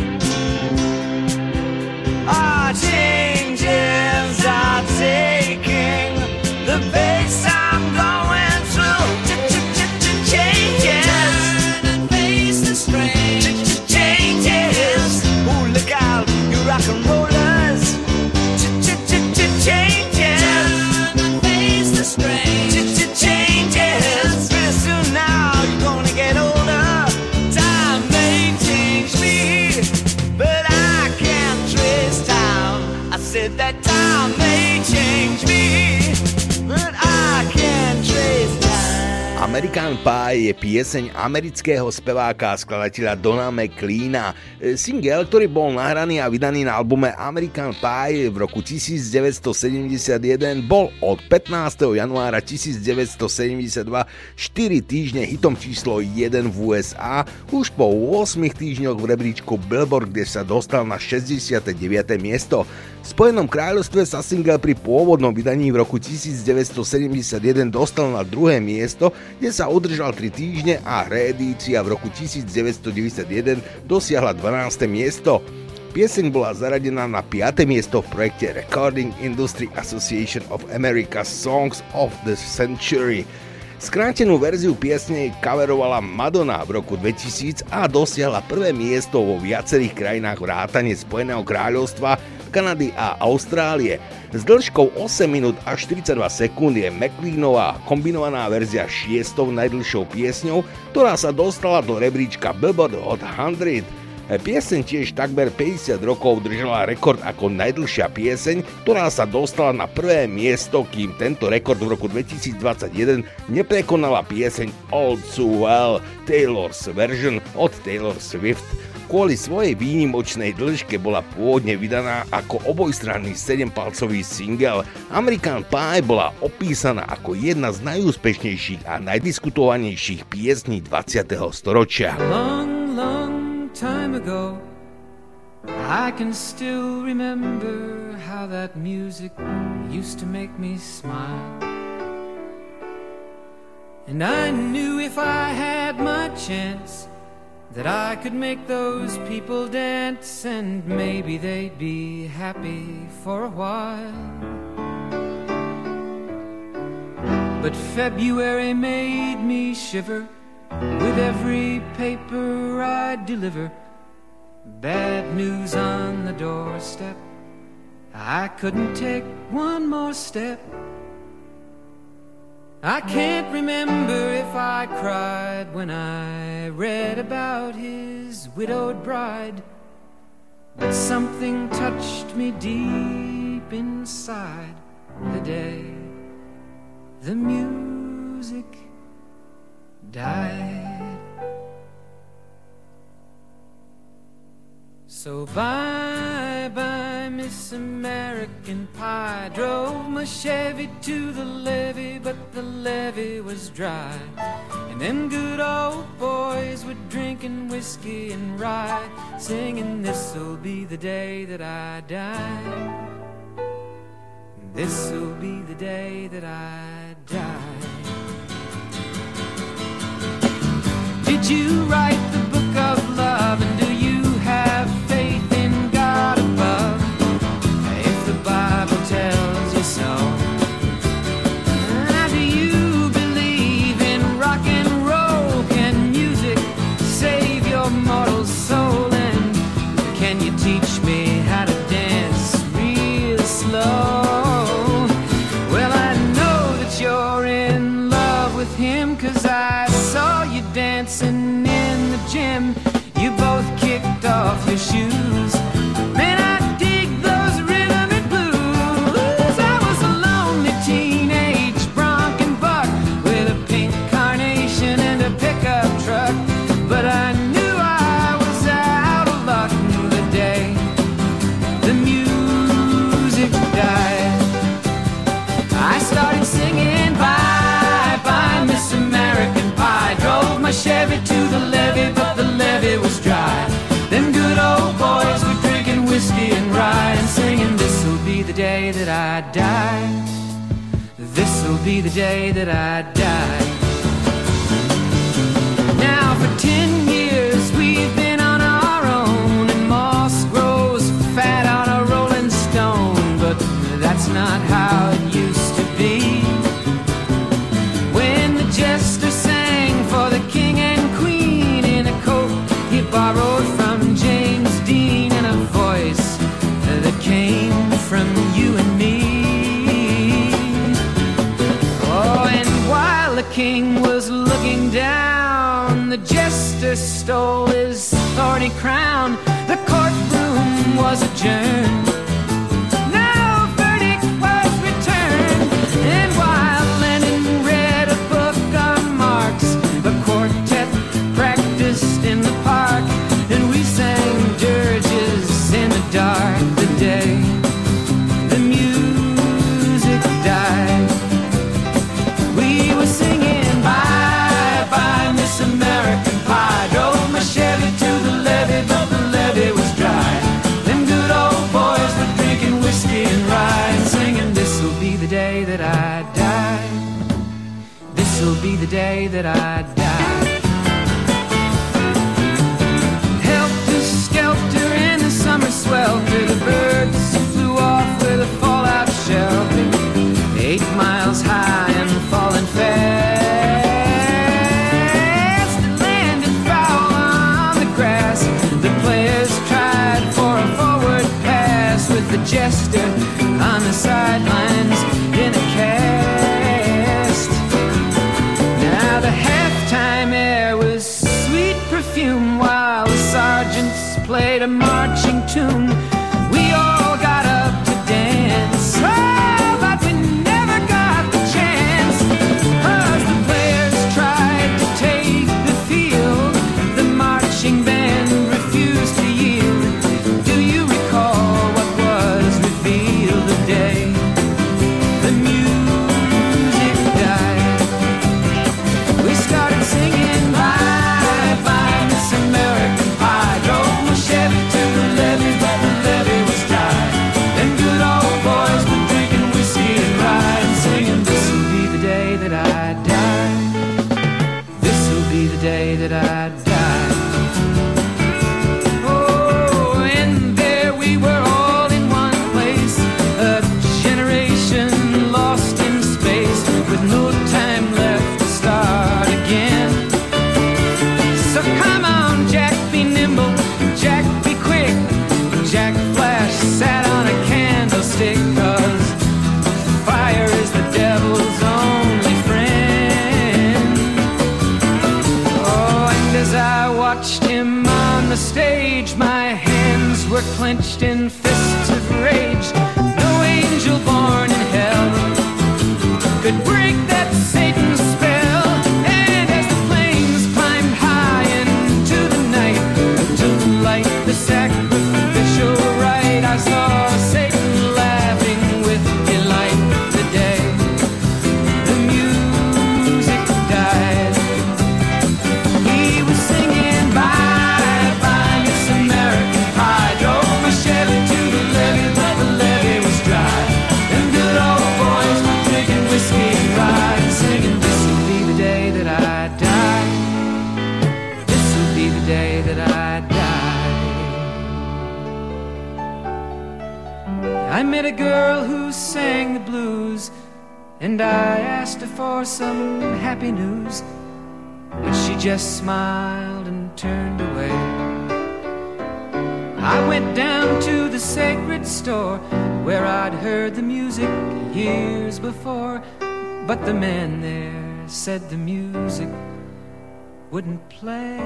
Our changes are taking the pace I'm going through. Changes. Turn and face the strain. Changes. Ooh, look out, you rock and rollers. Changes. Turn and face the strain. Changes. Pretty soon now you're gonna get older. Time may change me, but I can't trace time. I said that time may change me, but I can't trace time. American Pie je pieseň amerického speváka a skladateľa Dona McLeana. Single, ktorý bol nahraný a vydaný na albume American Pie v roku 1971, bol od 15. januára 1972 4 týždne hitom číslo 1 v USA. Už po 8 týždňoch v rebríčku Billboard, kde sa dostal na 69. miesto. V Spojenom kráľovstve sa single pri pôvodnom vydaní v roku 1971 dostal na 2. miesto, kde sa udržal 3 týždne a reedícia v roku 1991 dosiahla 12. miesto. Pieseň bola zaradená na 5. miesto v projekte Recording Industry Association of America's Songs of the Century. Skrátenú verziu piesne coverovala Madonna v roku 2000 a dosiahla 1. miesto vo viacerých krajinách vrátane Spojeného kráľovstva, Kanady a Austrálie. S dĺžkou 8 minút a 42 sekúnd je McLeanová kombinovaná verzia 6. najdlhšou piesňou, ktorá sa dostala do rebríčka Billboard Hot 100. Pieseň tiež takmer 50 rokov držala rekord ako najdlhšia pieseň, ktorá sa dostala na 1. miesto, kým tento rekord v roku 2021 neprekonala pieseň All Too Well, Taylor's version od Taylor Swift. Kvôli svojej výnimočnej dĺžke bola pôvodne vydaná ako obojstranný 7-palcový single. American Pie bola opísaná ako jedna z najúspešnejších a najdiskutovanejších piesní 20. storočia. Long, long time ago, I can still remember how that music used to make me smile. And I knew if I had my chance that I could make those people dance, and maybe they'd be happy for a while. But February made me shiver with every paper I'd deliver. Bad news on the doorstep, I couldn't take one more step. I can't remember if I cried when I read about his widowed bride, but something touched me deep inside the day the music died. So bye-bye, Miss American Pie. Drove my Chevy to the levee, but the levee was dry. And them good old boys were drinking whiskey and rye, singing, this'll be the day that I die. This'll be the day that I die. Did you write the book of love, and do you have faith in God above? If the Bible tells you so. Do you believe in rock and roll? Can music save your mortal soul? And can you teach me how to dance real slow? Well, I know that you're in love with him, 'cause I saw you dancing in the gym. You both kicked off your shoes. Man, I dig those rhythm and blues. I was a lonely teenage bronc and buck with a pink carnation and a pickup truck, but I knew I was out of luck the day the music died. I started singing bye-bye, Miss American Pie. Drove my Chevy to the levee, but the levee was dry. Them good old boys were drinking whiskey and rye and singing, this'll be the day that I die. This'll be the day that I die. Now for 10 years we've been on our own, and moss grows fat on a rolling stone, but that's not how it used to be. When the jester sang for the king and queen in a coat he borrowed from James Dean, and a voice that came from you and me. Oh, and while the king was looking down, the jester stole his thorny crown. The courtroom was adjourned. No verdict was returned. And while Lenin read a book on Marx, the quartet practiced in the park, and we sang dirges in the dark the day the music died. We were singing bye-bye, Miss American Pie. Drove my Chevy to the levee, but the levee was dry. Them good old boys were drinking whiskey and rye and singing, this'll be the day that I die. This'll be the day that I die. Helter-skelter in the summer swelter, the birds flew off with a fallout shelter, 8 miles high and falling fast. It landed foul on the grass. The players tried for a forward pass, with the jester on the sidelines in a cast. Now the halftime air was sweet perfume, while the sergeants played a marching tune. We all got up to dance, oh, but we never got the chance, 'cause the players tried to take the field. The marching band refused to yield. Do you recall what was revealed the day the music died? We started singing bye-bye, Miss American Pie. Drove my Chevy to the girl who sang the blues, and I asked her for some happy news, but she just smiled and turned away. I went down to the sacred store where I'd heard the music years before, but the man there said the music wouldn't play.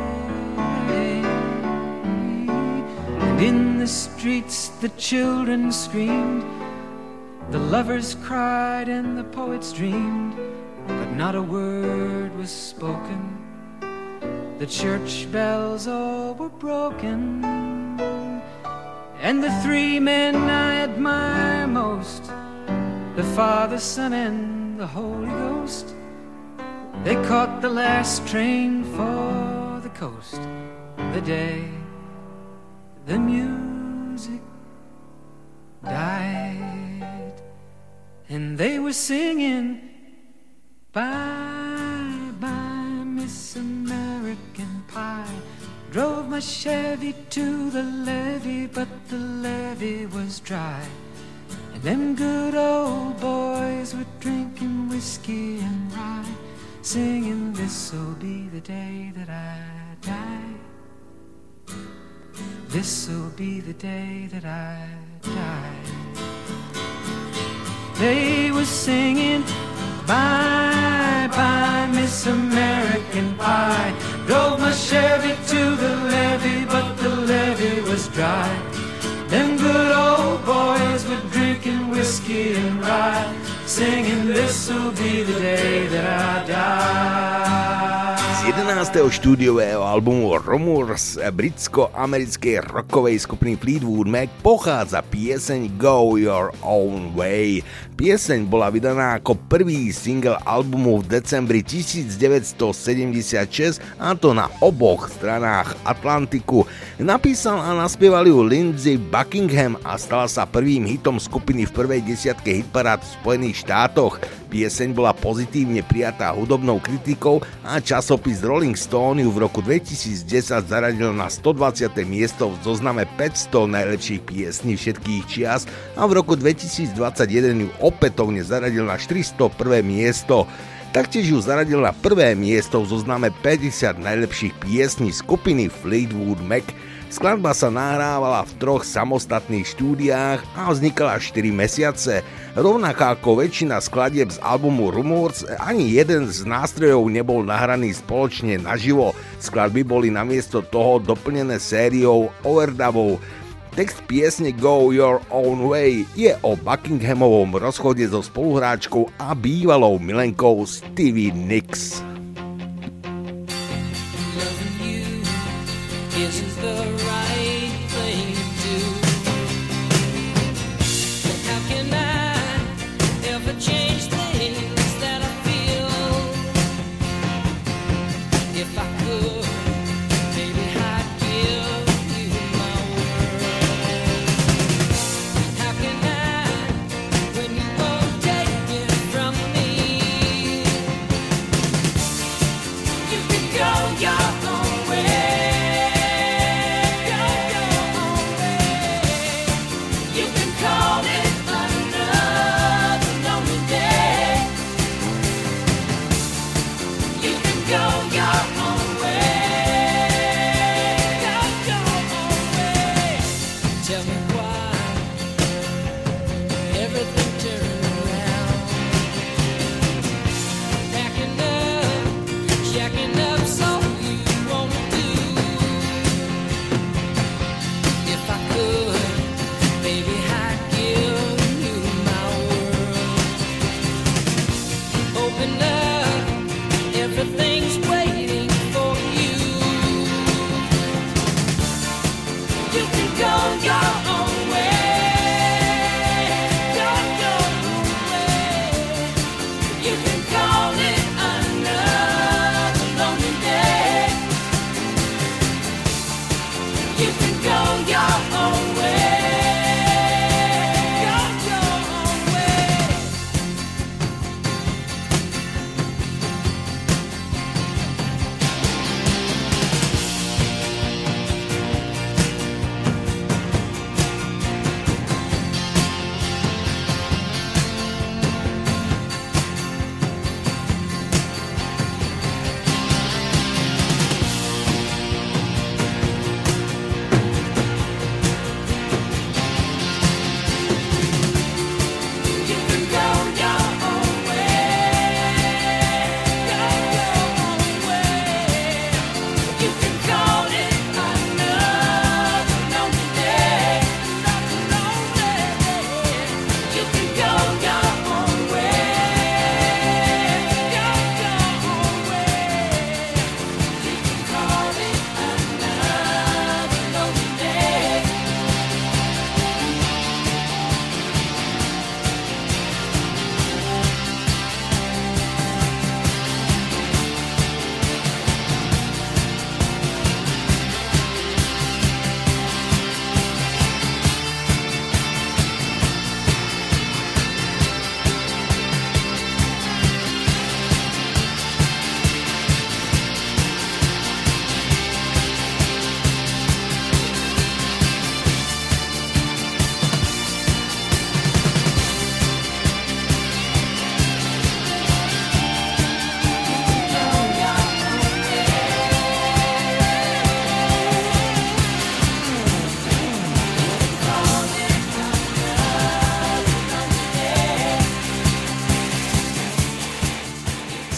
And in the streets the children screamed, the lovers cried and the poets dreamed, but not a word was spoken. The church bells all were broken, and the three men I admire most, the Father, Son, and the Holy Ghost, they caught the last train for the coast the day the music died. And they were singing, bye, bye, Miss American Pie. Drove my Chevy to the levee, but the levee was dry. And them good old boys were drinking whiskey and rye, singing, this'll be the day that I die. This'll be the day that I die. They were singing, bye, bye, Miss American Pie. Drove my Chevy to the levee, but the levee was dry. Them good old boys were drinking whiskey and rye, singing, this'll be the day that I die. Z 11. štúdiového albumu Rumours britsko-americkej rockovej skupiny Fleetwood Mac pochádza pieseň Go Your Own Way. Pieseň bola vydaná ako prvý single albumu v decembri 1976, a to na oboch stranách Atlantiku. Napísal a naspieval ju Lindsey Buckingham a stala sa prvým hitom skupiny v prvej desiatke hitparád v Spojených štátoch. Pieseň bola pozitívne prijatá hudobnou kritikou a časopis Rolling Stone ju v roku 2010 zaradil na 120. miesto v zozname 500 najlepších piesní všetkých čias a v roku 2021 ju opätovne zaradil na 401. miesto. Taktiež ju zaradil na prvé miesto v zozname 50 najlepších piesní skupiny Fleetwood Mac. Skladba sa nahrávala v 3 samostatných štúdiách a vznikala 4 mesiace. Rovnako ako väčšina skladieb z albumu Rumours, ani jeden z nástrojov nebol nahraný spoločne naživo. Skladby boli namiesto toho doplnené sériou overdubov. Text piesne Go Your Own Way je o Buckinghamovom rozchode so spoluhráčkou a bývalou milenkou Stevie Nicks. Isn't the right thing to do? How can I ever change things that I feel? If I could, maybe I'd give you my word. How can I, when you won't take it from me?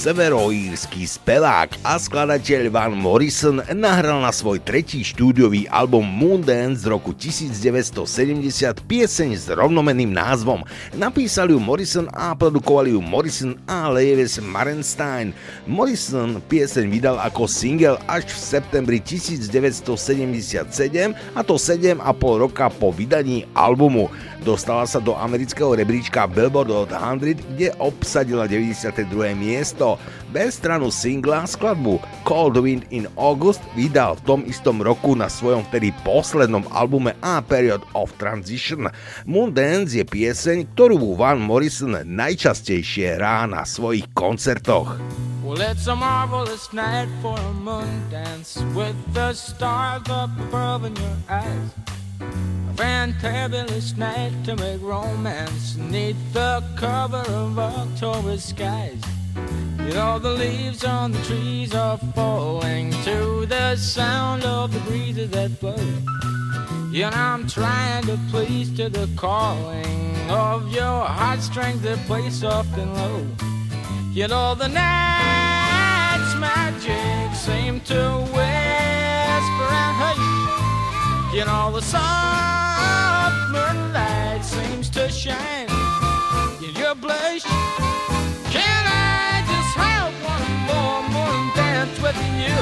Severoírsky spevák a skladateľ Van Morrison nahral na svoj tretí štúdiový album Moondance z roku 1970 pieseň s rovnomenným názvom. Napísali ju Morrison a produkovali ju Morrison a Lewis Marenstein. Morrison pieseň vydal ako single až v septembri 1977, a to 7,5 roka po vydaní albumu. Dostala sa do amerického rebríčka Billboard Hot 100, kde obsadila 92. miesto. Bez stranu singla skladbu Cold Wind in August vydal v tom istom roku na svojom vtedy poslednom albume A Period of Transition. Moondance je pieseň, ktorú Van Morrison najčastejšie hrá na svojich koncertoch. Well, it's a marvelous night for a moon dance with the stars up above in your eyes. A fantabulous night to make romance neath the cover of October skies. You know the leaves on the trees are falling to the sound of the breezes that blow. You know I'm trying to please to the calling of your heartstrings that play soft and low. You know the night's magic seem to whisper and hush. You know the soft moonlight seems to shine in your blush. Can I just have one more moon dance with you,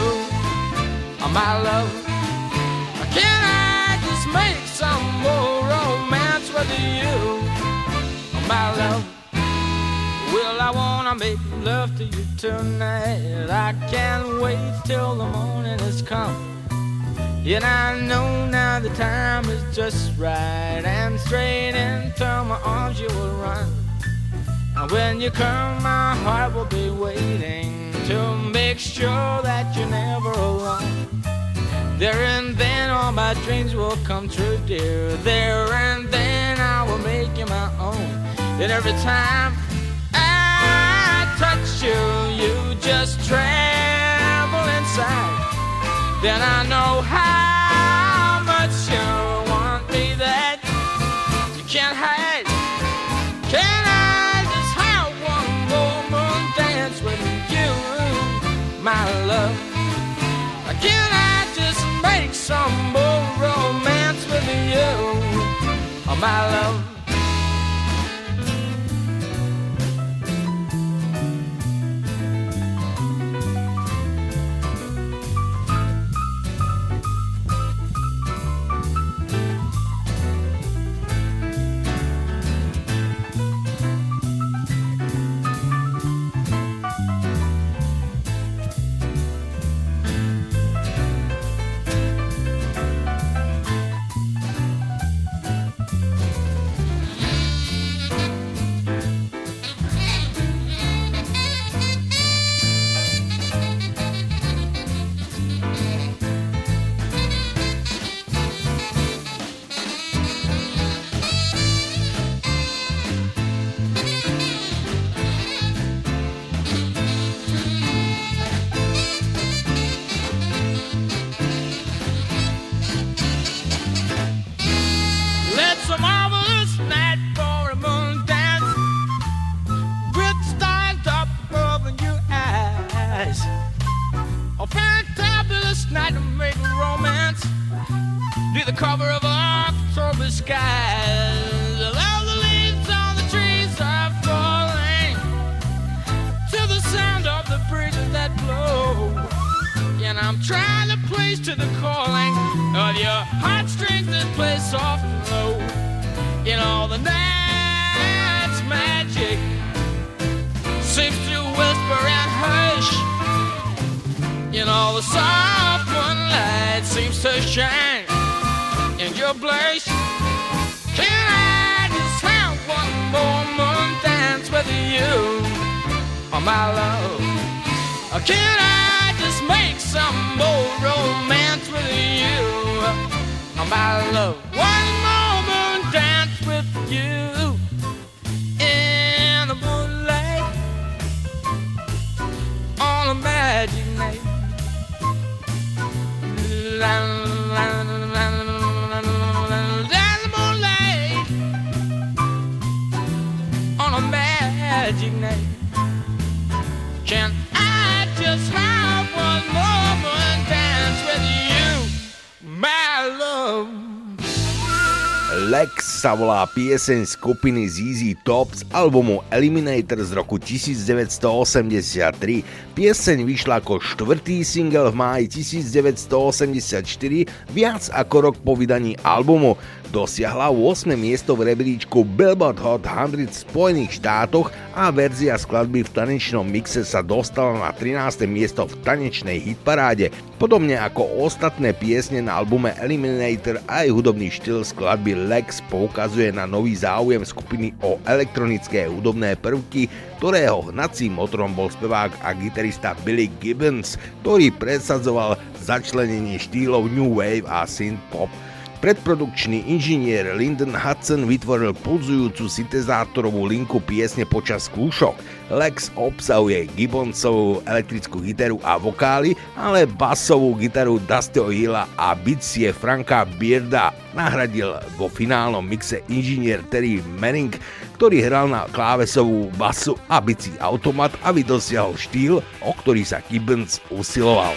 my love? Can I just make some more romance with you, my love? Well, I wanna make love to you tonight. I can't wait till the morning has come. Yet I know now the time is just right, and straight into my arms you will run. And when you come, my heart will be waiting to make sure that you're never alone. There and then all my dreams will come true, dear. There and then I will make you my own. And every time I touch you, you just tremble inside. Then I know how much you want me that you can't hide. Can I just have one more moon dance with you, my love? Can I just make some more romance with you, my love? Can I just have one moment dance with you, my love? Lex sa volá pieseň skupiny ZZ Top z albumu Eliminator z roku 1983. Pieseň vyšla ako štvrtý single v máji 1984, viac ako rok po vydaní albumu. Dosiahla 8. miesto v rebríčku Billboard Hot 100 v Spojených štátoch a verzia skladby v tanečnom mixe sa dostala na 13. miesto v tanečnej hitparáde. Podobne ako ostatné piesne na albume Eliminator, aj hudobný štýl skladby Lex poukazuje na nový záujem skupiny o elektronické hudobné prvky, ktorého hnacím motorom bol spevák a gitarista Billy Gibbons, ktorý presadzoval začlenenie štýlov New Wave a Synth Pop. Predprodukčný inžinier Lyndon Hudson vytvoril pulzujúcu syntezátorovú linku piesne počas skúšok. Lex obsahuje Gibbonsovú elektrickú gitaru a vokály, ale basovú gitaru Dustyho Hilla a bicie Franka Bearda nahradil vo finálnom mixe inžinier Terry Manning, ktorý hral na klávesovú basu a bicí automat, aby dosiahol štýl, o ktorý sa Gibbons usiloval.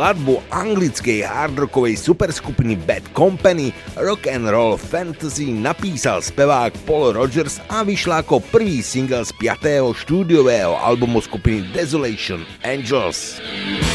skladbu anglickej hardrockovej superskupiny Bad Company Rock and Roll Fantasy napísal spevák Paul Rogers a vyšla ako prvý single z 5. štúdiového albumu skupiny Desolation Angels.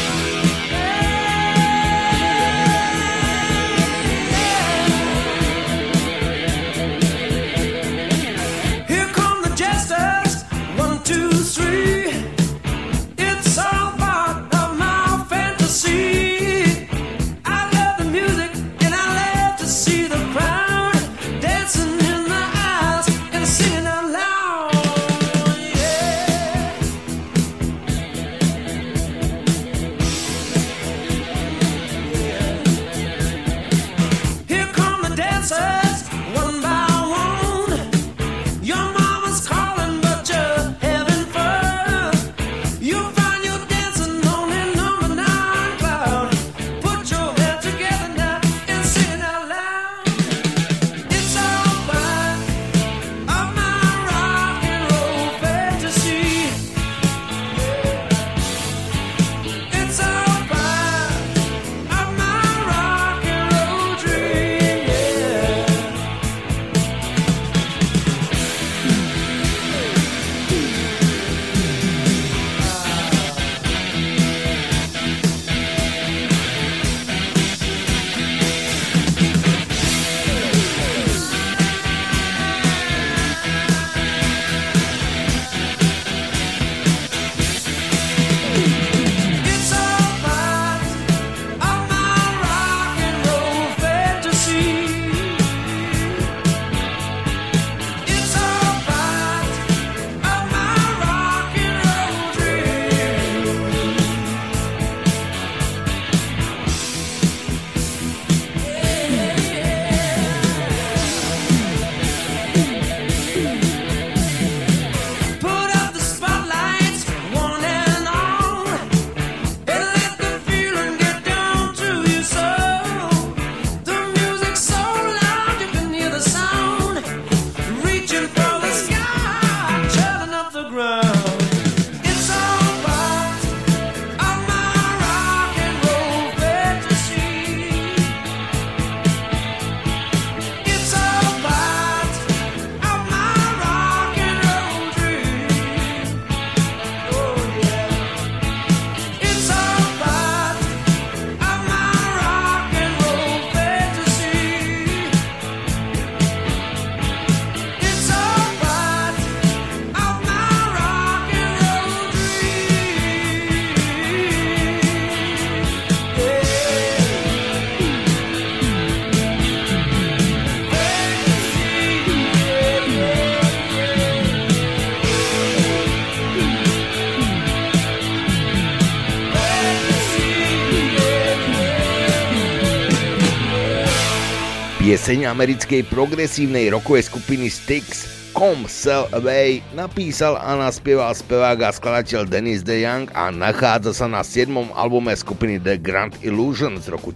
Pieseň americkej progresívnej rockovej skupiny Styx Come Sail Away napísal a naspieval spevák a skladateľ Dennis DeYoung a nachádza sa na 7. albume skupiny The Grand Illusion z roku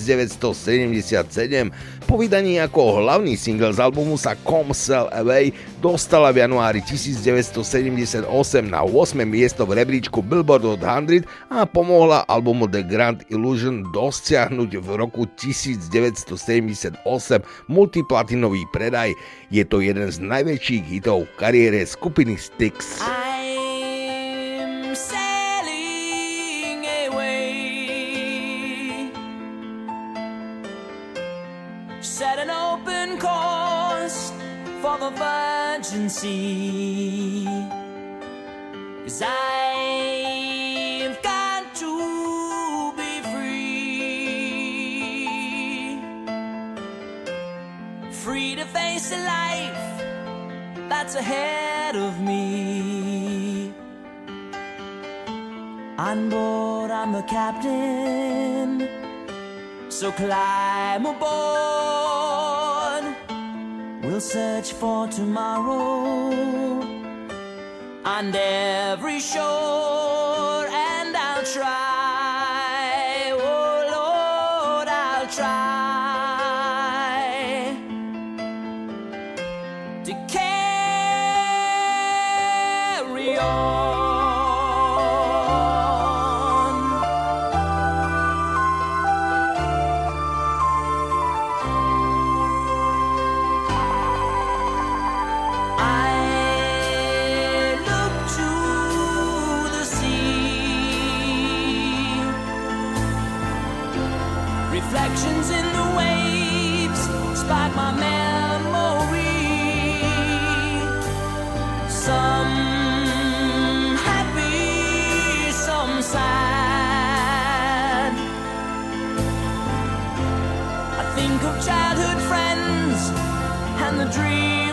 1977. Po vydaní ako hlavný single z albumu sa Come Sail Away dostala v januári 1978 na 8. miesto v rebríčku Billboard Hot 100 a pomohla albumu The Grand Illusion dosiahnuť v roku 1978 multiplatinový predaj. Je to jeden z najväčších hitov v kariére skupiny Styx. I'm sailing away, set an open course for the virgin sea, 'cause I've got to be free, free to face a life that's ahead of me. On board, I'm the captain, so climb aboard. We'll search for tomorrow on every shore, and I'll try, oh Lord, I'll try to carry on.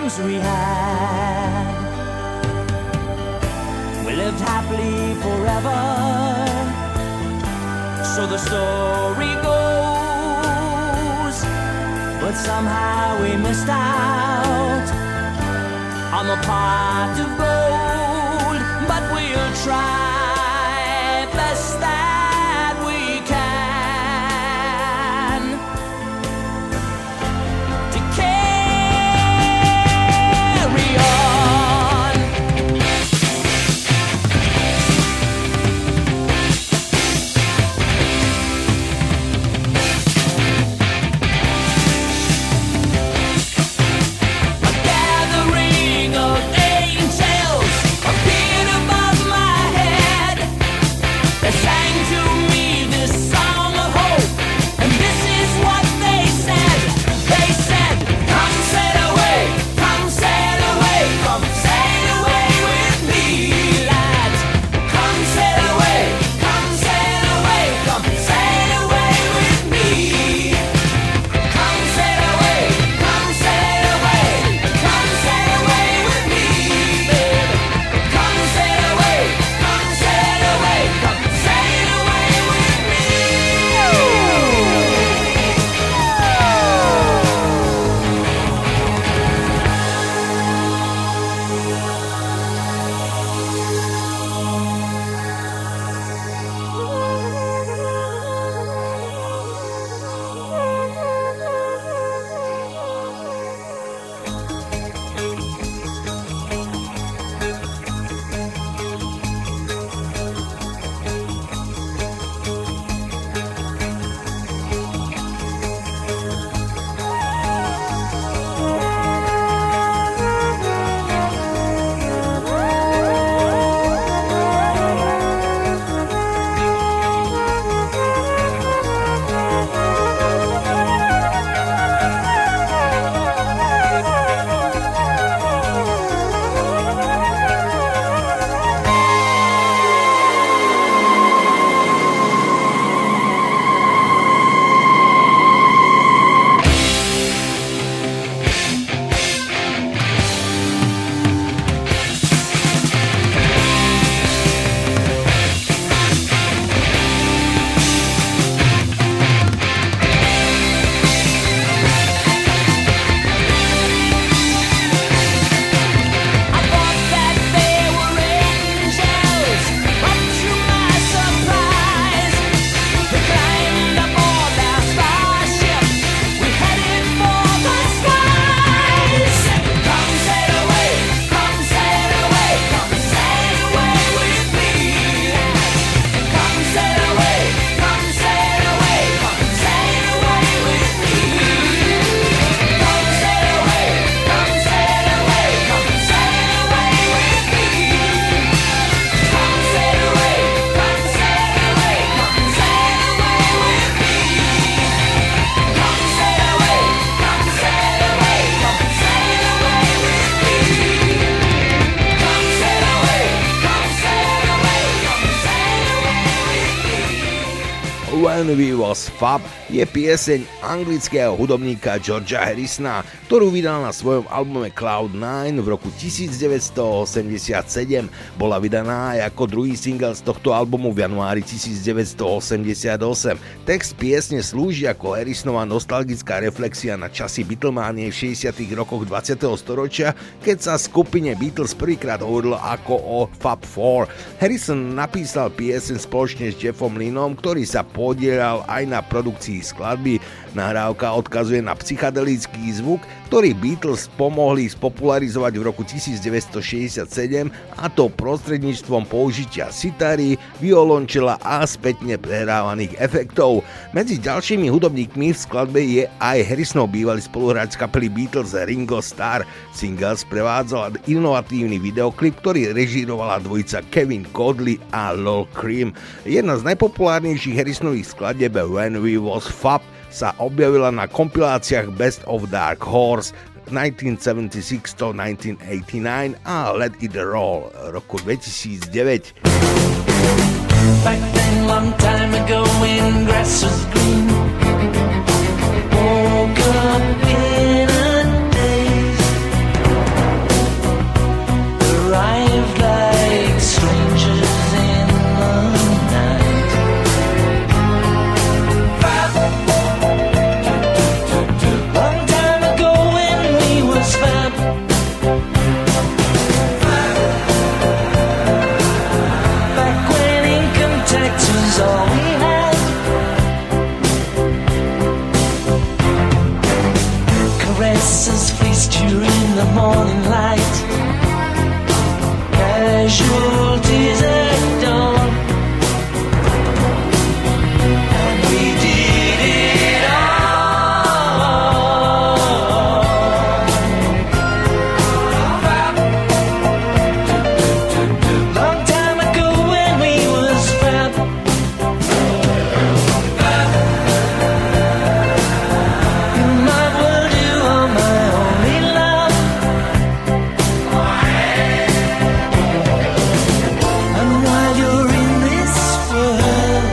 times we had. We lived happily forever, so the story goes. But somehow we missed out on the pot of gold. But we'll try best that we can to carry on. A gathering of angels appeared above my head. They sang to me this song of hope, and this is what they said. They said, come sail away, come sail away, come sail away with me, lads. Come sail away, come sail away, come sail away with me. Come sail away, come sail away, come sail away with me, babe. Come sail away, come sail away, come sail away with me. I thought that there were angels, but to my surprise, we climbed aboard their starship. We headed for the skies. Come sail away, come sail away, come sail away with me. Come sail away, come sail away, come sail away with me. Come sail away, come sail away, come sail away with me. Come sail away, come sail away, come sail away with me. Come sail away, come sail away, come sail away with me. Come sail away, come sail away, come sail away with me. When We Was Fab je pieseň anglického hudobníka Georgea Harrisona, ktorú vydal na svojom albume Cloud9 v roku 1987. Bola vydaná aj ako druhý single z tohto albumu v januári 1988. Text piesne slúži ako Harrisonova nostalgická reflexia na časy Beatlemanie v 60. rokoch 20. storočia, keď sa skupine Beatles prvýkrát hovorilo ako o Fab Four. Harrison napísal pieseň spoločne s Jeffom Lynnom, ktorý sa podieľal aj na produkcii skladby. Nahrávka odkazuje na psychedelický zvuk, ktorý Beatles pomohli spopularizovať v roku 1967, a to prostredníctvom použitia sitary, violončela a spätne prehrávaných efektov. Medzi ďalšími hudobníkmi v skladbe je aj Harrisonov bývalý spoluhráč z kapely Beatles Ringo Starr. Single sprevádzal inovatívny videoklip, ktorý režírovala dvojica Kevin Godley a Lol Cream. Jedna z najpopulárnejších Harrisonových skladieb When We Was Fab sa objavila na kompiláciách Best of Dark Horse 1976 to 1989 a Let It Roll roku 2009. Back then, long time ago, when grass was green, woke up in a daze. restless fleeced you in the morning light. Casualties at dawn, and we did it all. Long time ago when we was fab, in my world you are my only love. And while you're in this world,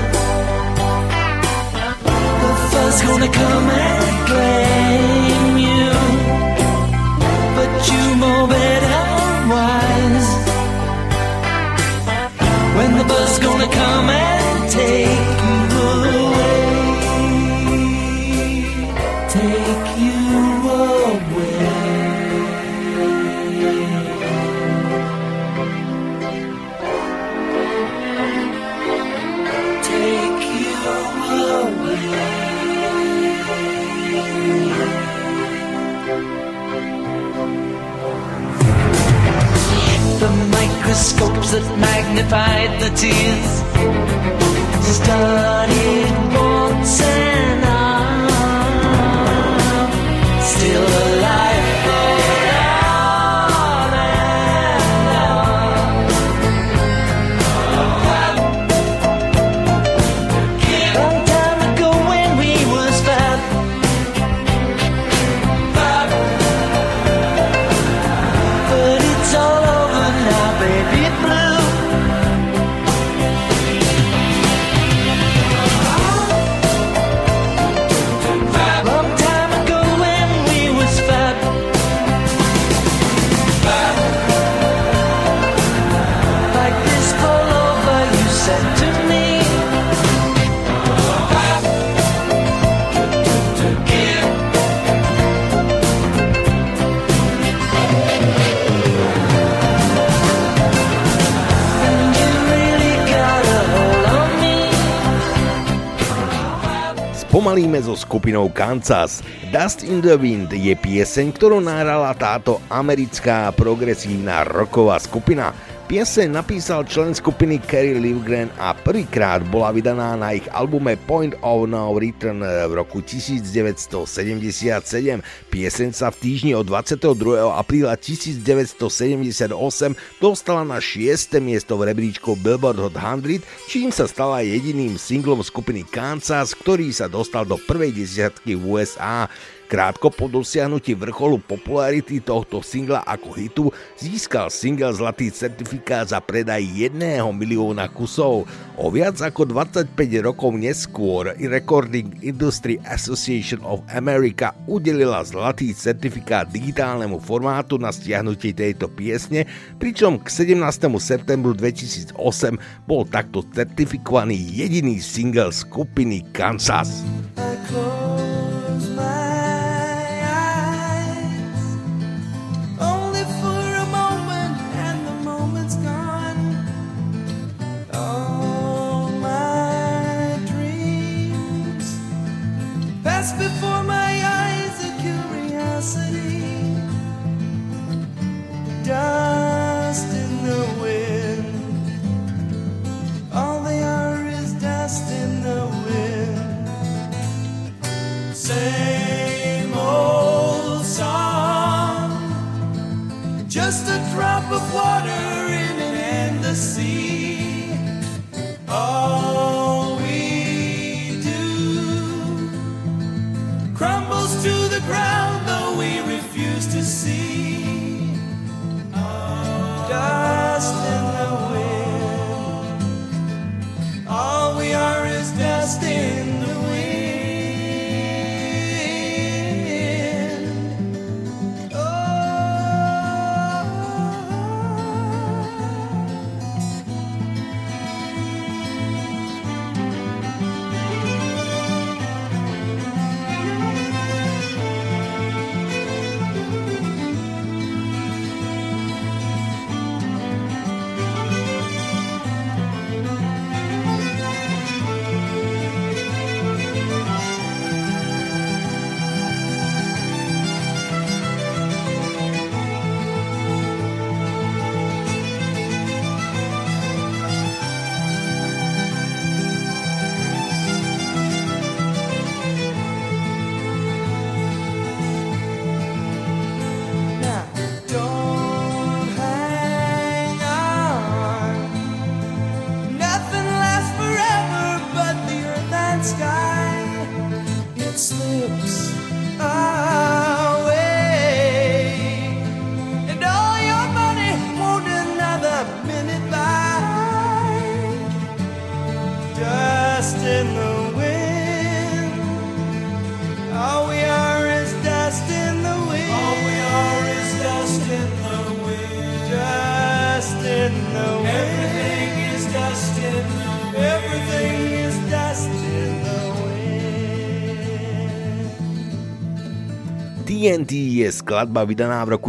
the fuss gonna come and claim you, but you know better wise. When the bus gonna come and take you away, take you away. Take you away. The microscopes that magnified the tears started once and I'm still alive for on and on. Long time ago when we was fab, but it's all over now, baby blue. Long time ago when we was fab, like this all over, you said to me. And you really got a hold on me. Spomalíme so skupinou Kansas. Dust in the Wind je pieseň, ktorú nahrala táto americká progresívna rocková skupina. Pieseň napísal člen skupiny Kerry Livgren a prvýkrát bola vydaná na ich albume Point of No Return v roku 1977. Pieseň sa v týždni od 22. apríla 1978 dostala na 6. miesto v rebríčku Billboard Hot 100, čím sa stala jediným singlom skupiny Kansas, ktorý sa dostal do prvej desiatky v USA. Krátko po dosiahnutí vrcholu popularity tohto singla ako hitu získal single zlatý certifikát za predaj 1 milióna kusov. O viac ako 25 rokov neskôr Recording Industry Association of America udelila zlatý certifikát digitálnemu formátu na stiahnutie tejto piesne, pričom k 17. septembru 2008 bol takto certifikovaný jediný single skupiny Kansas. Pass before my eyes a curiosity, dust in the wind. All they are is dust in the wind. Same old song, just a drop of water in an endless sea. All we do crumbles to the ground, though we refuse to see. Dust in the wind. All we are is dust in the wind. TNT je skladba vydaná v roku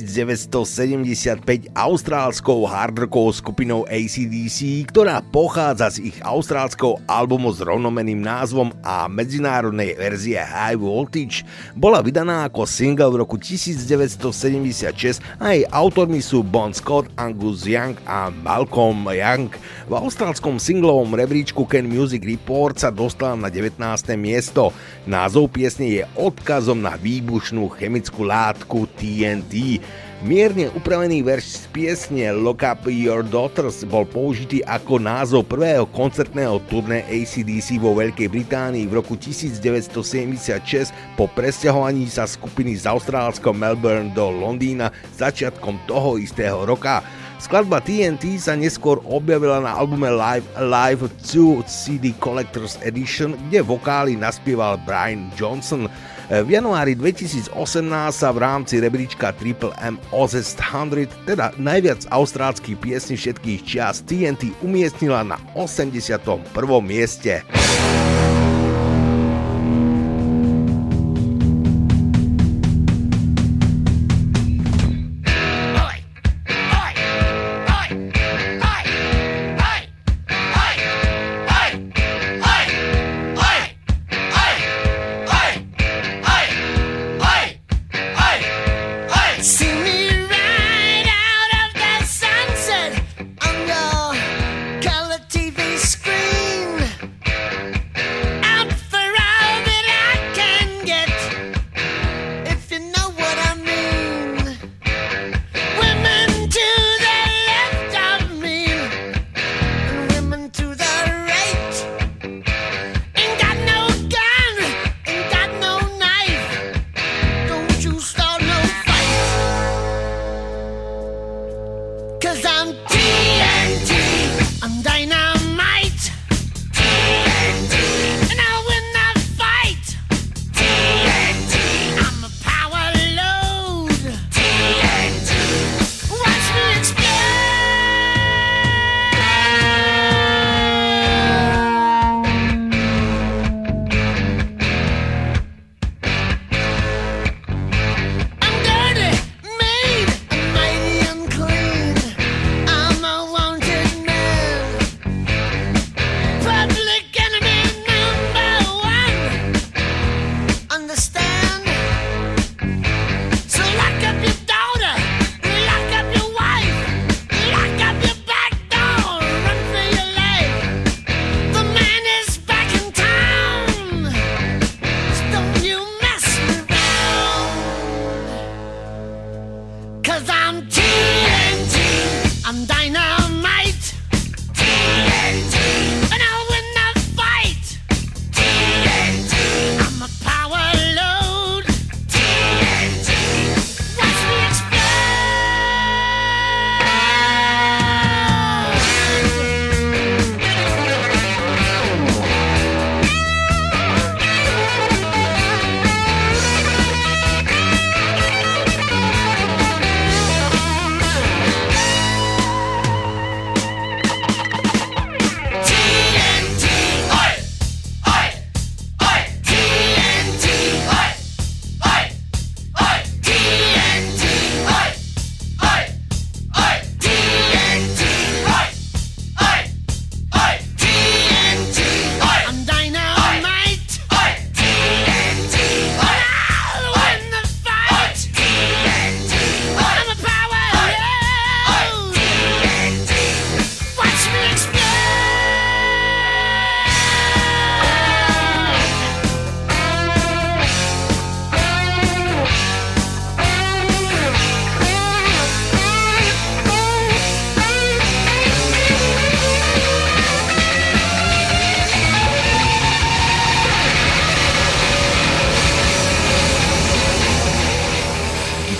1975 austrálskou hardrockovou skupinou AC/DC, ktorá pochádza z ich austrálskeho albumu s rovnomenným názvom a medzinárodnej verzie High Voltage. Bola vydaná ako single v roku 1976 a jej autormi sú Bon Scott, Angus Young a Malcolm Young. V austrálskom singlovom rebríčku Can Music Report sa dostala na 19. miesto. Názov piesne je odkazom na výbušnú chemickú látku TNT. Mierne upravený verš z piesne Lock Up Your Daughters bol použitý ako názov prvého koncertného turné AC/DC vo Veľkej Británii v roku 1976 po presťahovaní sa skupiny z austrálskeho Melbourne do Londýna začiatkom toho istého roka. Skladba TNT sa neskôr objavila na albume Live Alive 2 CD Collector's Edition, kde vokály naspieval Brian Johnson. V januári 2018 sa v rámci rebríčka Triple M Ozest 100, teda najviac austrálskych piesní všetkých čias, TNT umiestnila na 81. mieste.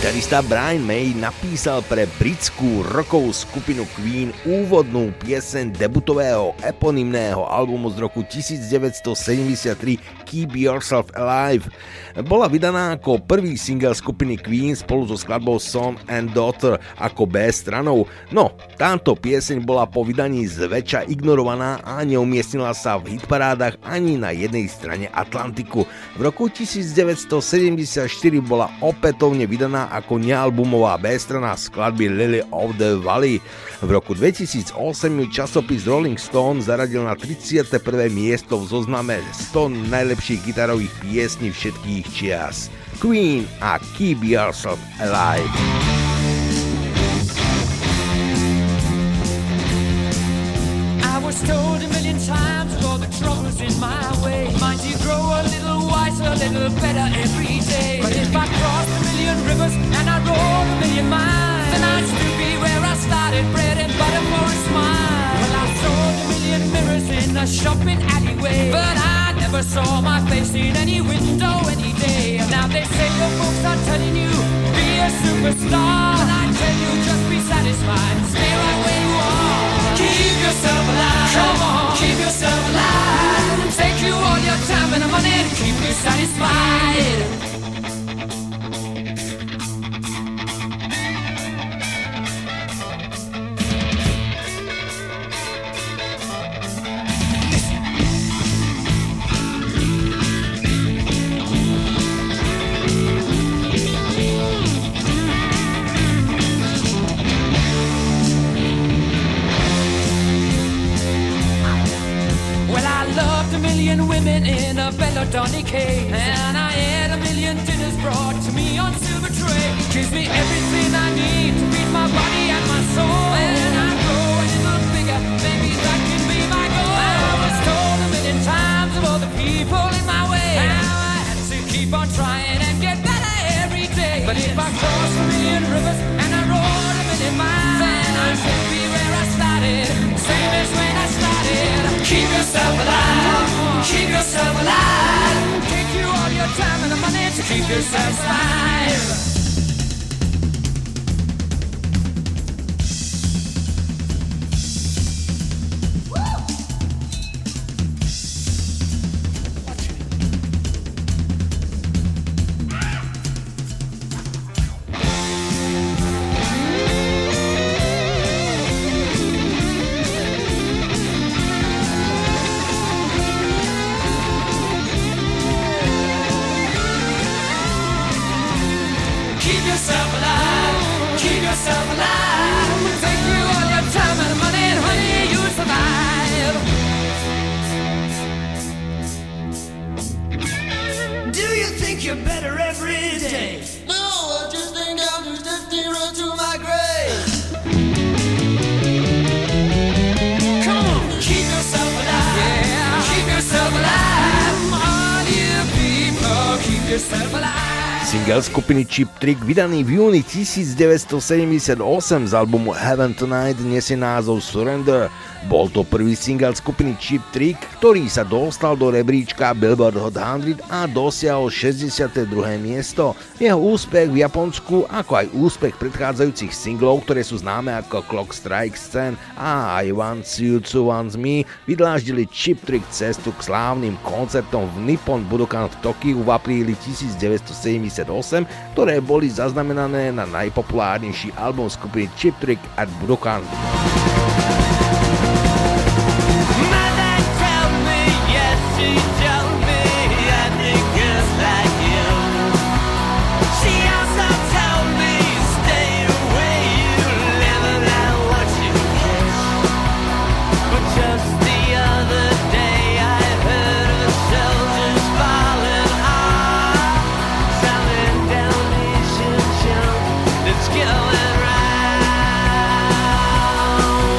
Gitarista Brian May napísal pre britskú rockovú skupinu Queen úvodnú pieseň debutového eponymného albumu z roku 1973 Keep Yourself Alive. Bola vydaná ako prvý single skupiny Queen spolu so skladbou Son and Daughter ako B stranou. No, táto pieseň bola po vydaní zväčša ignorovaná a neumiestnila sa v hitparádach ani na jednej strane Atlantiku. V roku 1974 bola opätovne vydaná ako nealbumová B-strana skladby Lily of the Valley. V roku 2008 ju časopis Rolling Stone zaradil na 31. miesto v zozname 100 najlepších gitarových piesní všetkých čias. Queen a Keep Yourself Alive. I was told a million times of all the troubles in my way. Mind you grow a little wiser, a little better every day. But if I crossed a million rivers and I rode a million miles, then I'd still be where I started, bread and butter for a smile. Well, I sold a million mirrors in a shopping alleyway, but I never saw my face in any window any day. Now they say your folks are telling you, be a superstar, but I tell you, just be satisfied, stay right where you are. Keep yourself alive, come on, keep yourself alive. Take you all your time and money to keep you satisfied. Women in a Belladonna cave, and I had a million dinners brought to me on silver tray. Gives me everything I need to feed my body and my soul. And I grow a little bigger, maybe that can be my goal. I was told a million times of all the people in my way, how I had to keep on trying and get better every day. But if I cross a million rivers and I rode a million miles, then I'd still be where I started, same as when I started. Keep yourself alive, keep yourself alive. Take you all your time and the money to keep yourself alive. Single skupiny Cheap Trick, vydaný v júni 1978 z albumu Heaven Tonight, nesie názov Surrender. Bol to prvý single skupiny Cheap Trick, ktorý sa dostal do rebríčka Billboard Hot 100 a dosiahol 62. miesto. Jeho úspech v Japonsku, ako aj úspech predchádzajúcich singlov, ktoré sú známe ako Clock Strikes 10 a I Want You to Want Me, vydláždili Cheap Trick cestu k slávnym koncertom v Nippon Budokan v Tokiu v apríli 1978, ktoré boli zaznamenané na najpopulárnejší album skupiny Cheap Trick at Budokan. Going round.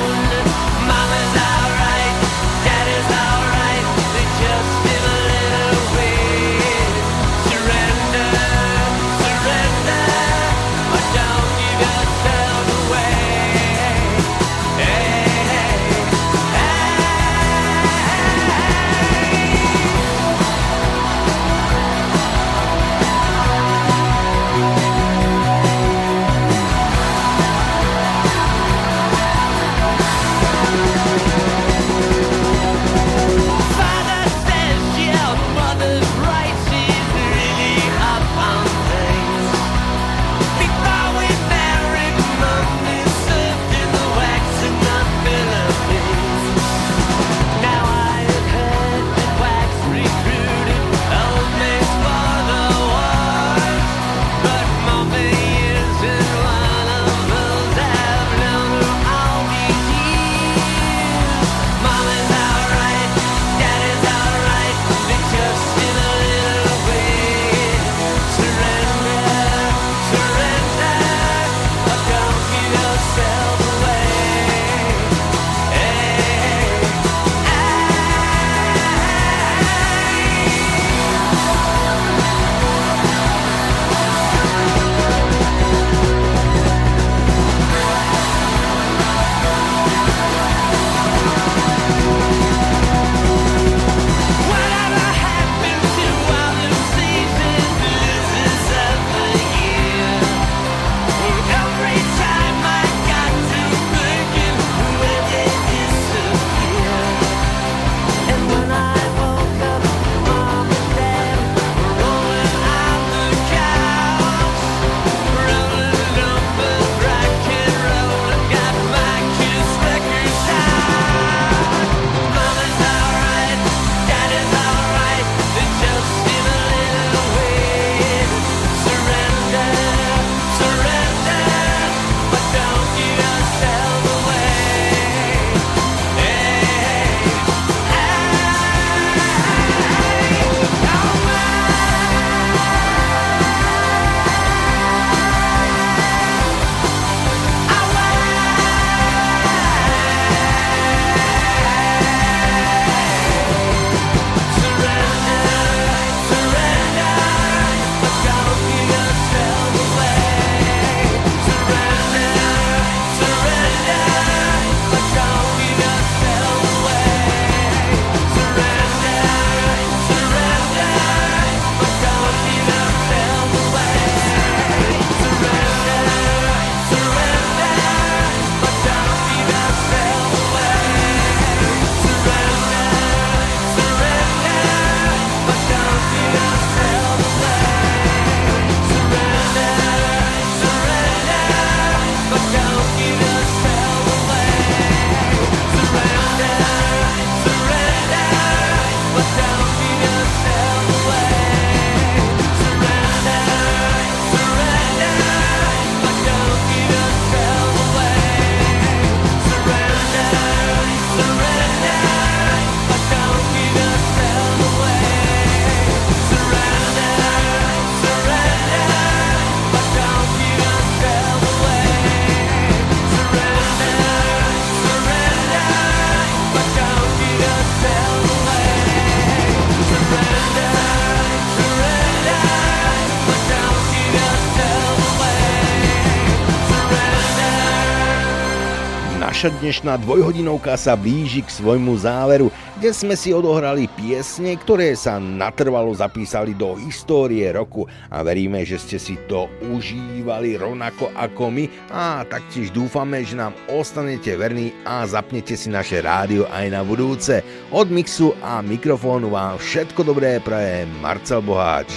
Naša dnešná dvojhodinovka sa blíži k svojmu záveru, kde sme si odohrali piesne, ktoré sa natrvalo zapísali do histórie roku a veríme, že ste si to užívali rovnako ako my a taktiež dúfame, že nám ostanete verní a zapnete si naše rádio aj na budúce. Od mixu a mikrofónu vám všetko dobré praje Marcel Boháč.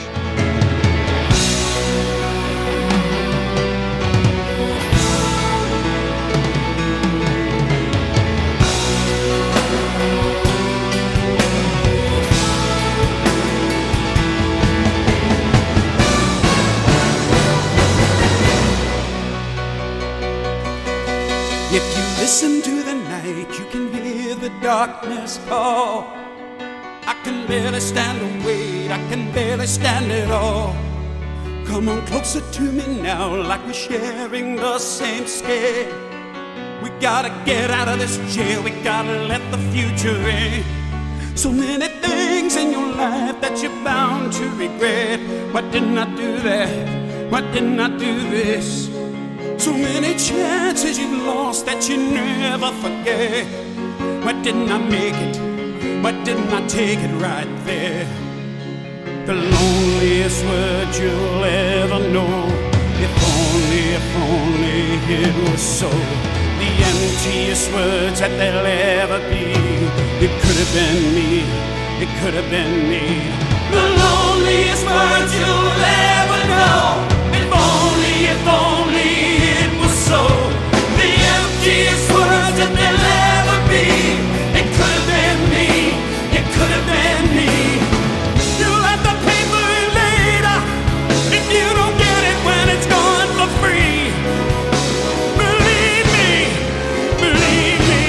If you listen to the night, you can hear the darkness call. I can barely stand the weight, I can barely stand it all. Come on closer to me now, like we're sharing the same scale. We gotta get out of this jail, we gotta let the future in. So many things in your life that you're bound to regret. Why didn't I do that? Why didn't I do this? So many chances you've lost that you never forget. Why didn't I make it? Why didn't I take it right there? The loneliest word you'll ever know. If only it was so. The emptiest words that there'll ever be. It could have been me, it could have been me. The loneliest words you'll ever know. If only it was so. The emptiest words that there'll ever be. It could have been me, it could have been me. You'll have to pay for it later if you don't get it when it's gone for free. Believe me, believe me.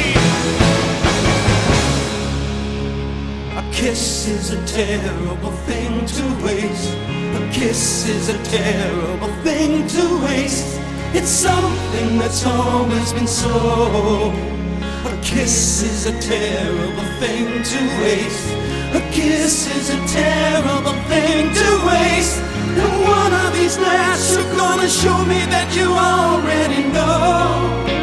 A kiss is a terrible thing to waste. A kiss is a terrible thing to waste. It's something that's always been so. A kiss is a terrible thing to waste. A kiss is a terrible thing to waste. And one of these nights you're gonna show me that you already know.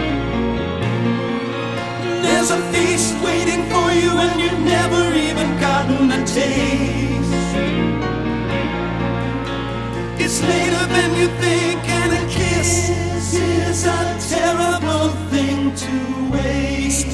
There's a feast waiting for you and you've never even gotten a taste. It's later than you think, and a kiss is a terrible thing to waste.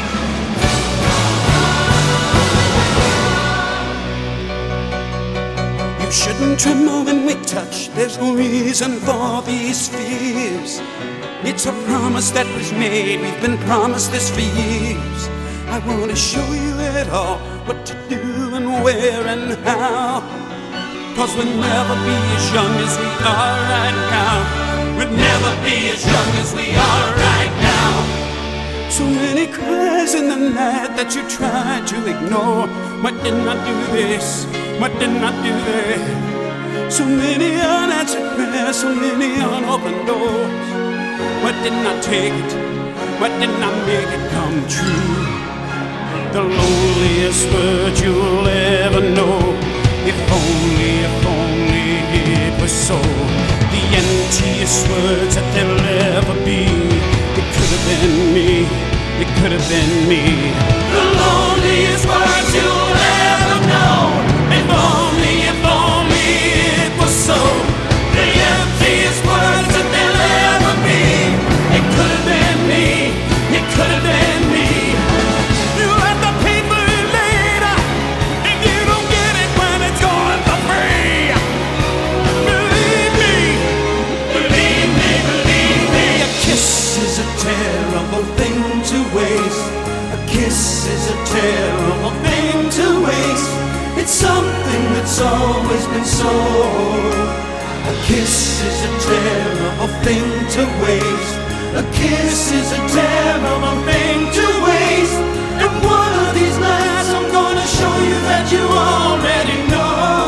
You shouldn't tremble when we touch. There's no reason for these fears. It's a promise that was made. We've been promised this for years. I want to show you it all, what to do and where and how. 'Cause we'll never be as young as we are right now. We'll never be as young as we are right now. So many cries in the night that you tried to ignore. Why didn't I do this? Why didn't I do that? So many unanswered prayers, so many unopened doors. Why didn't I take it? Why didn't I make it come true? The loneliest word you'll ever know. If only it was so. The emptiest words that there'll ever be. It could have been me, it could have been me. The loneliest words you'll ever know. If only it was so. The emptiest words that there'll ever be. It could have been me, it could have been me. You'll have to pay for it later if you don't get it when it's gone for free. Believe me, believe me, believe me. A kiss is a terrible thing to waste. A kiss is a terrible thing to waste. It's something that's always been so. A kiss is a terrible thing to waste. A kiss is a terrible thing to waste. And one of these nights I'm gonna show you that you already know.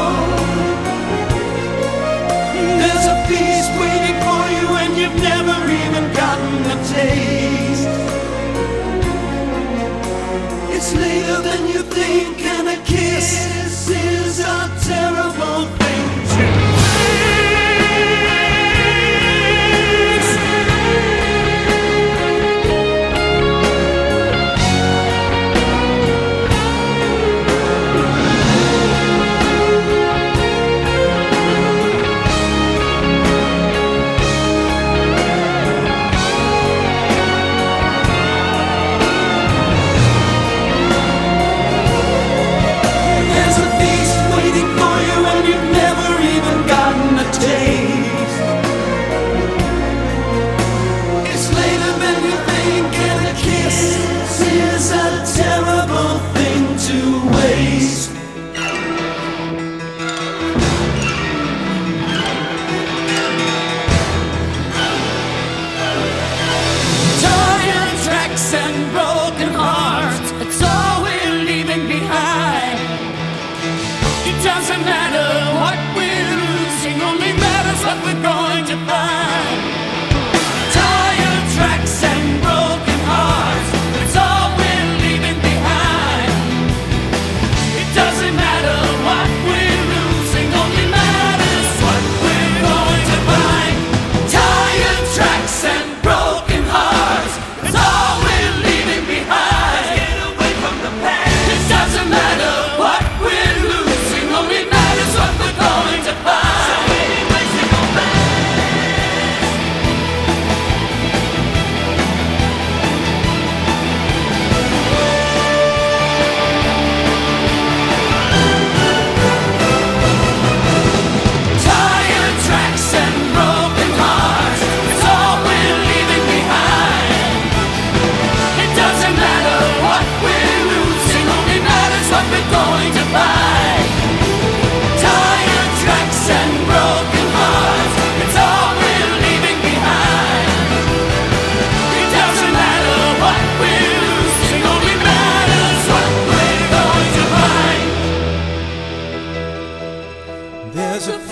There's a feast waiting for you and you've never even gotten a taste. It's later than you think, and a kiss is a terrible thing to waste.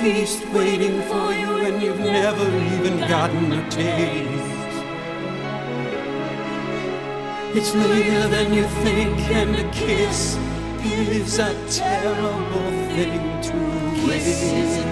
feast waiting for you, and you've never even gotten a taste. It's later than you think, and a kiss is a terrible thing to waste.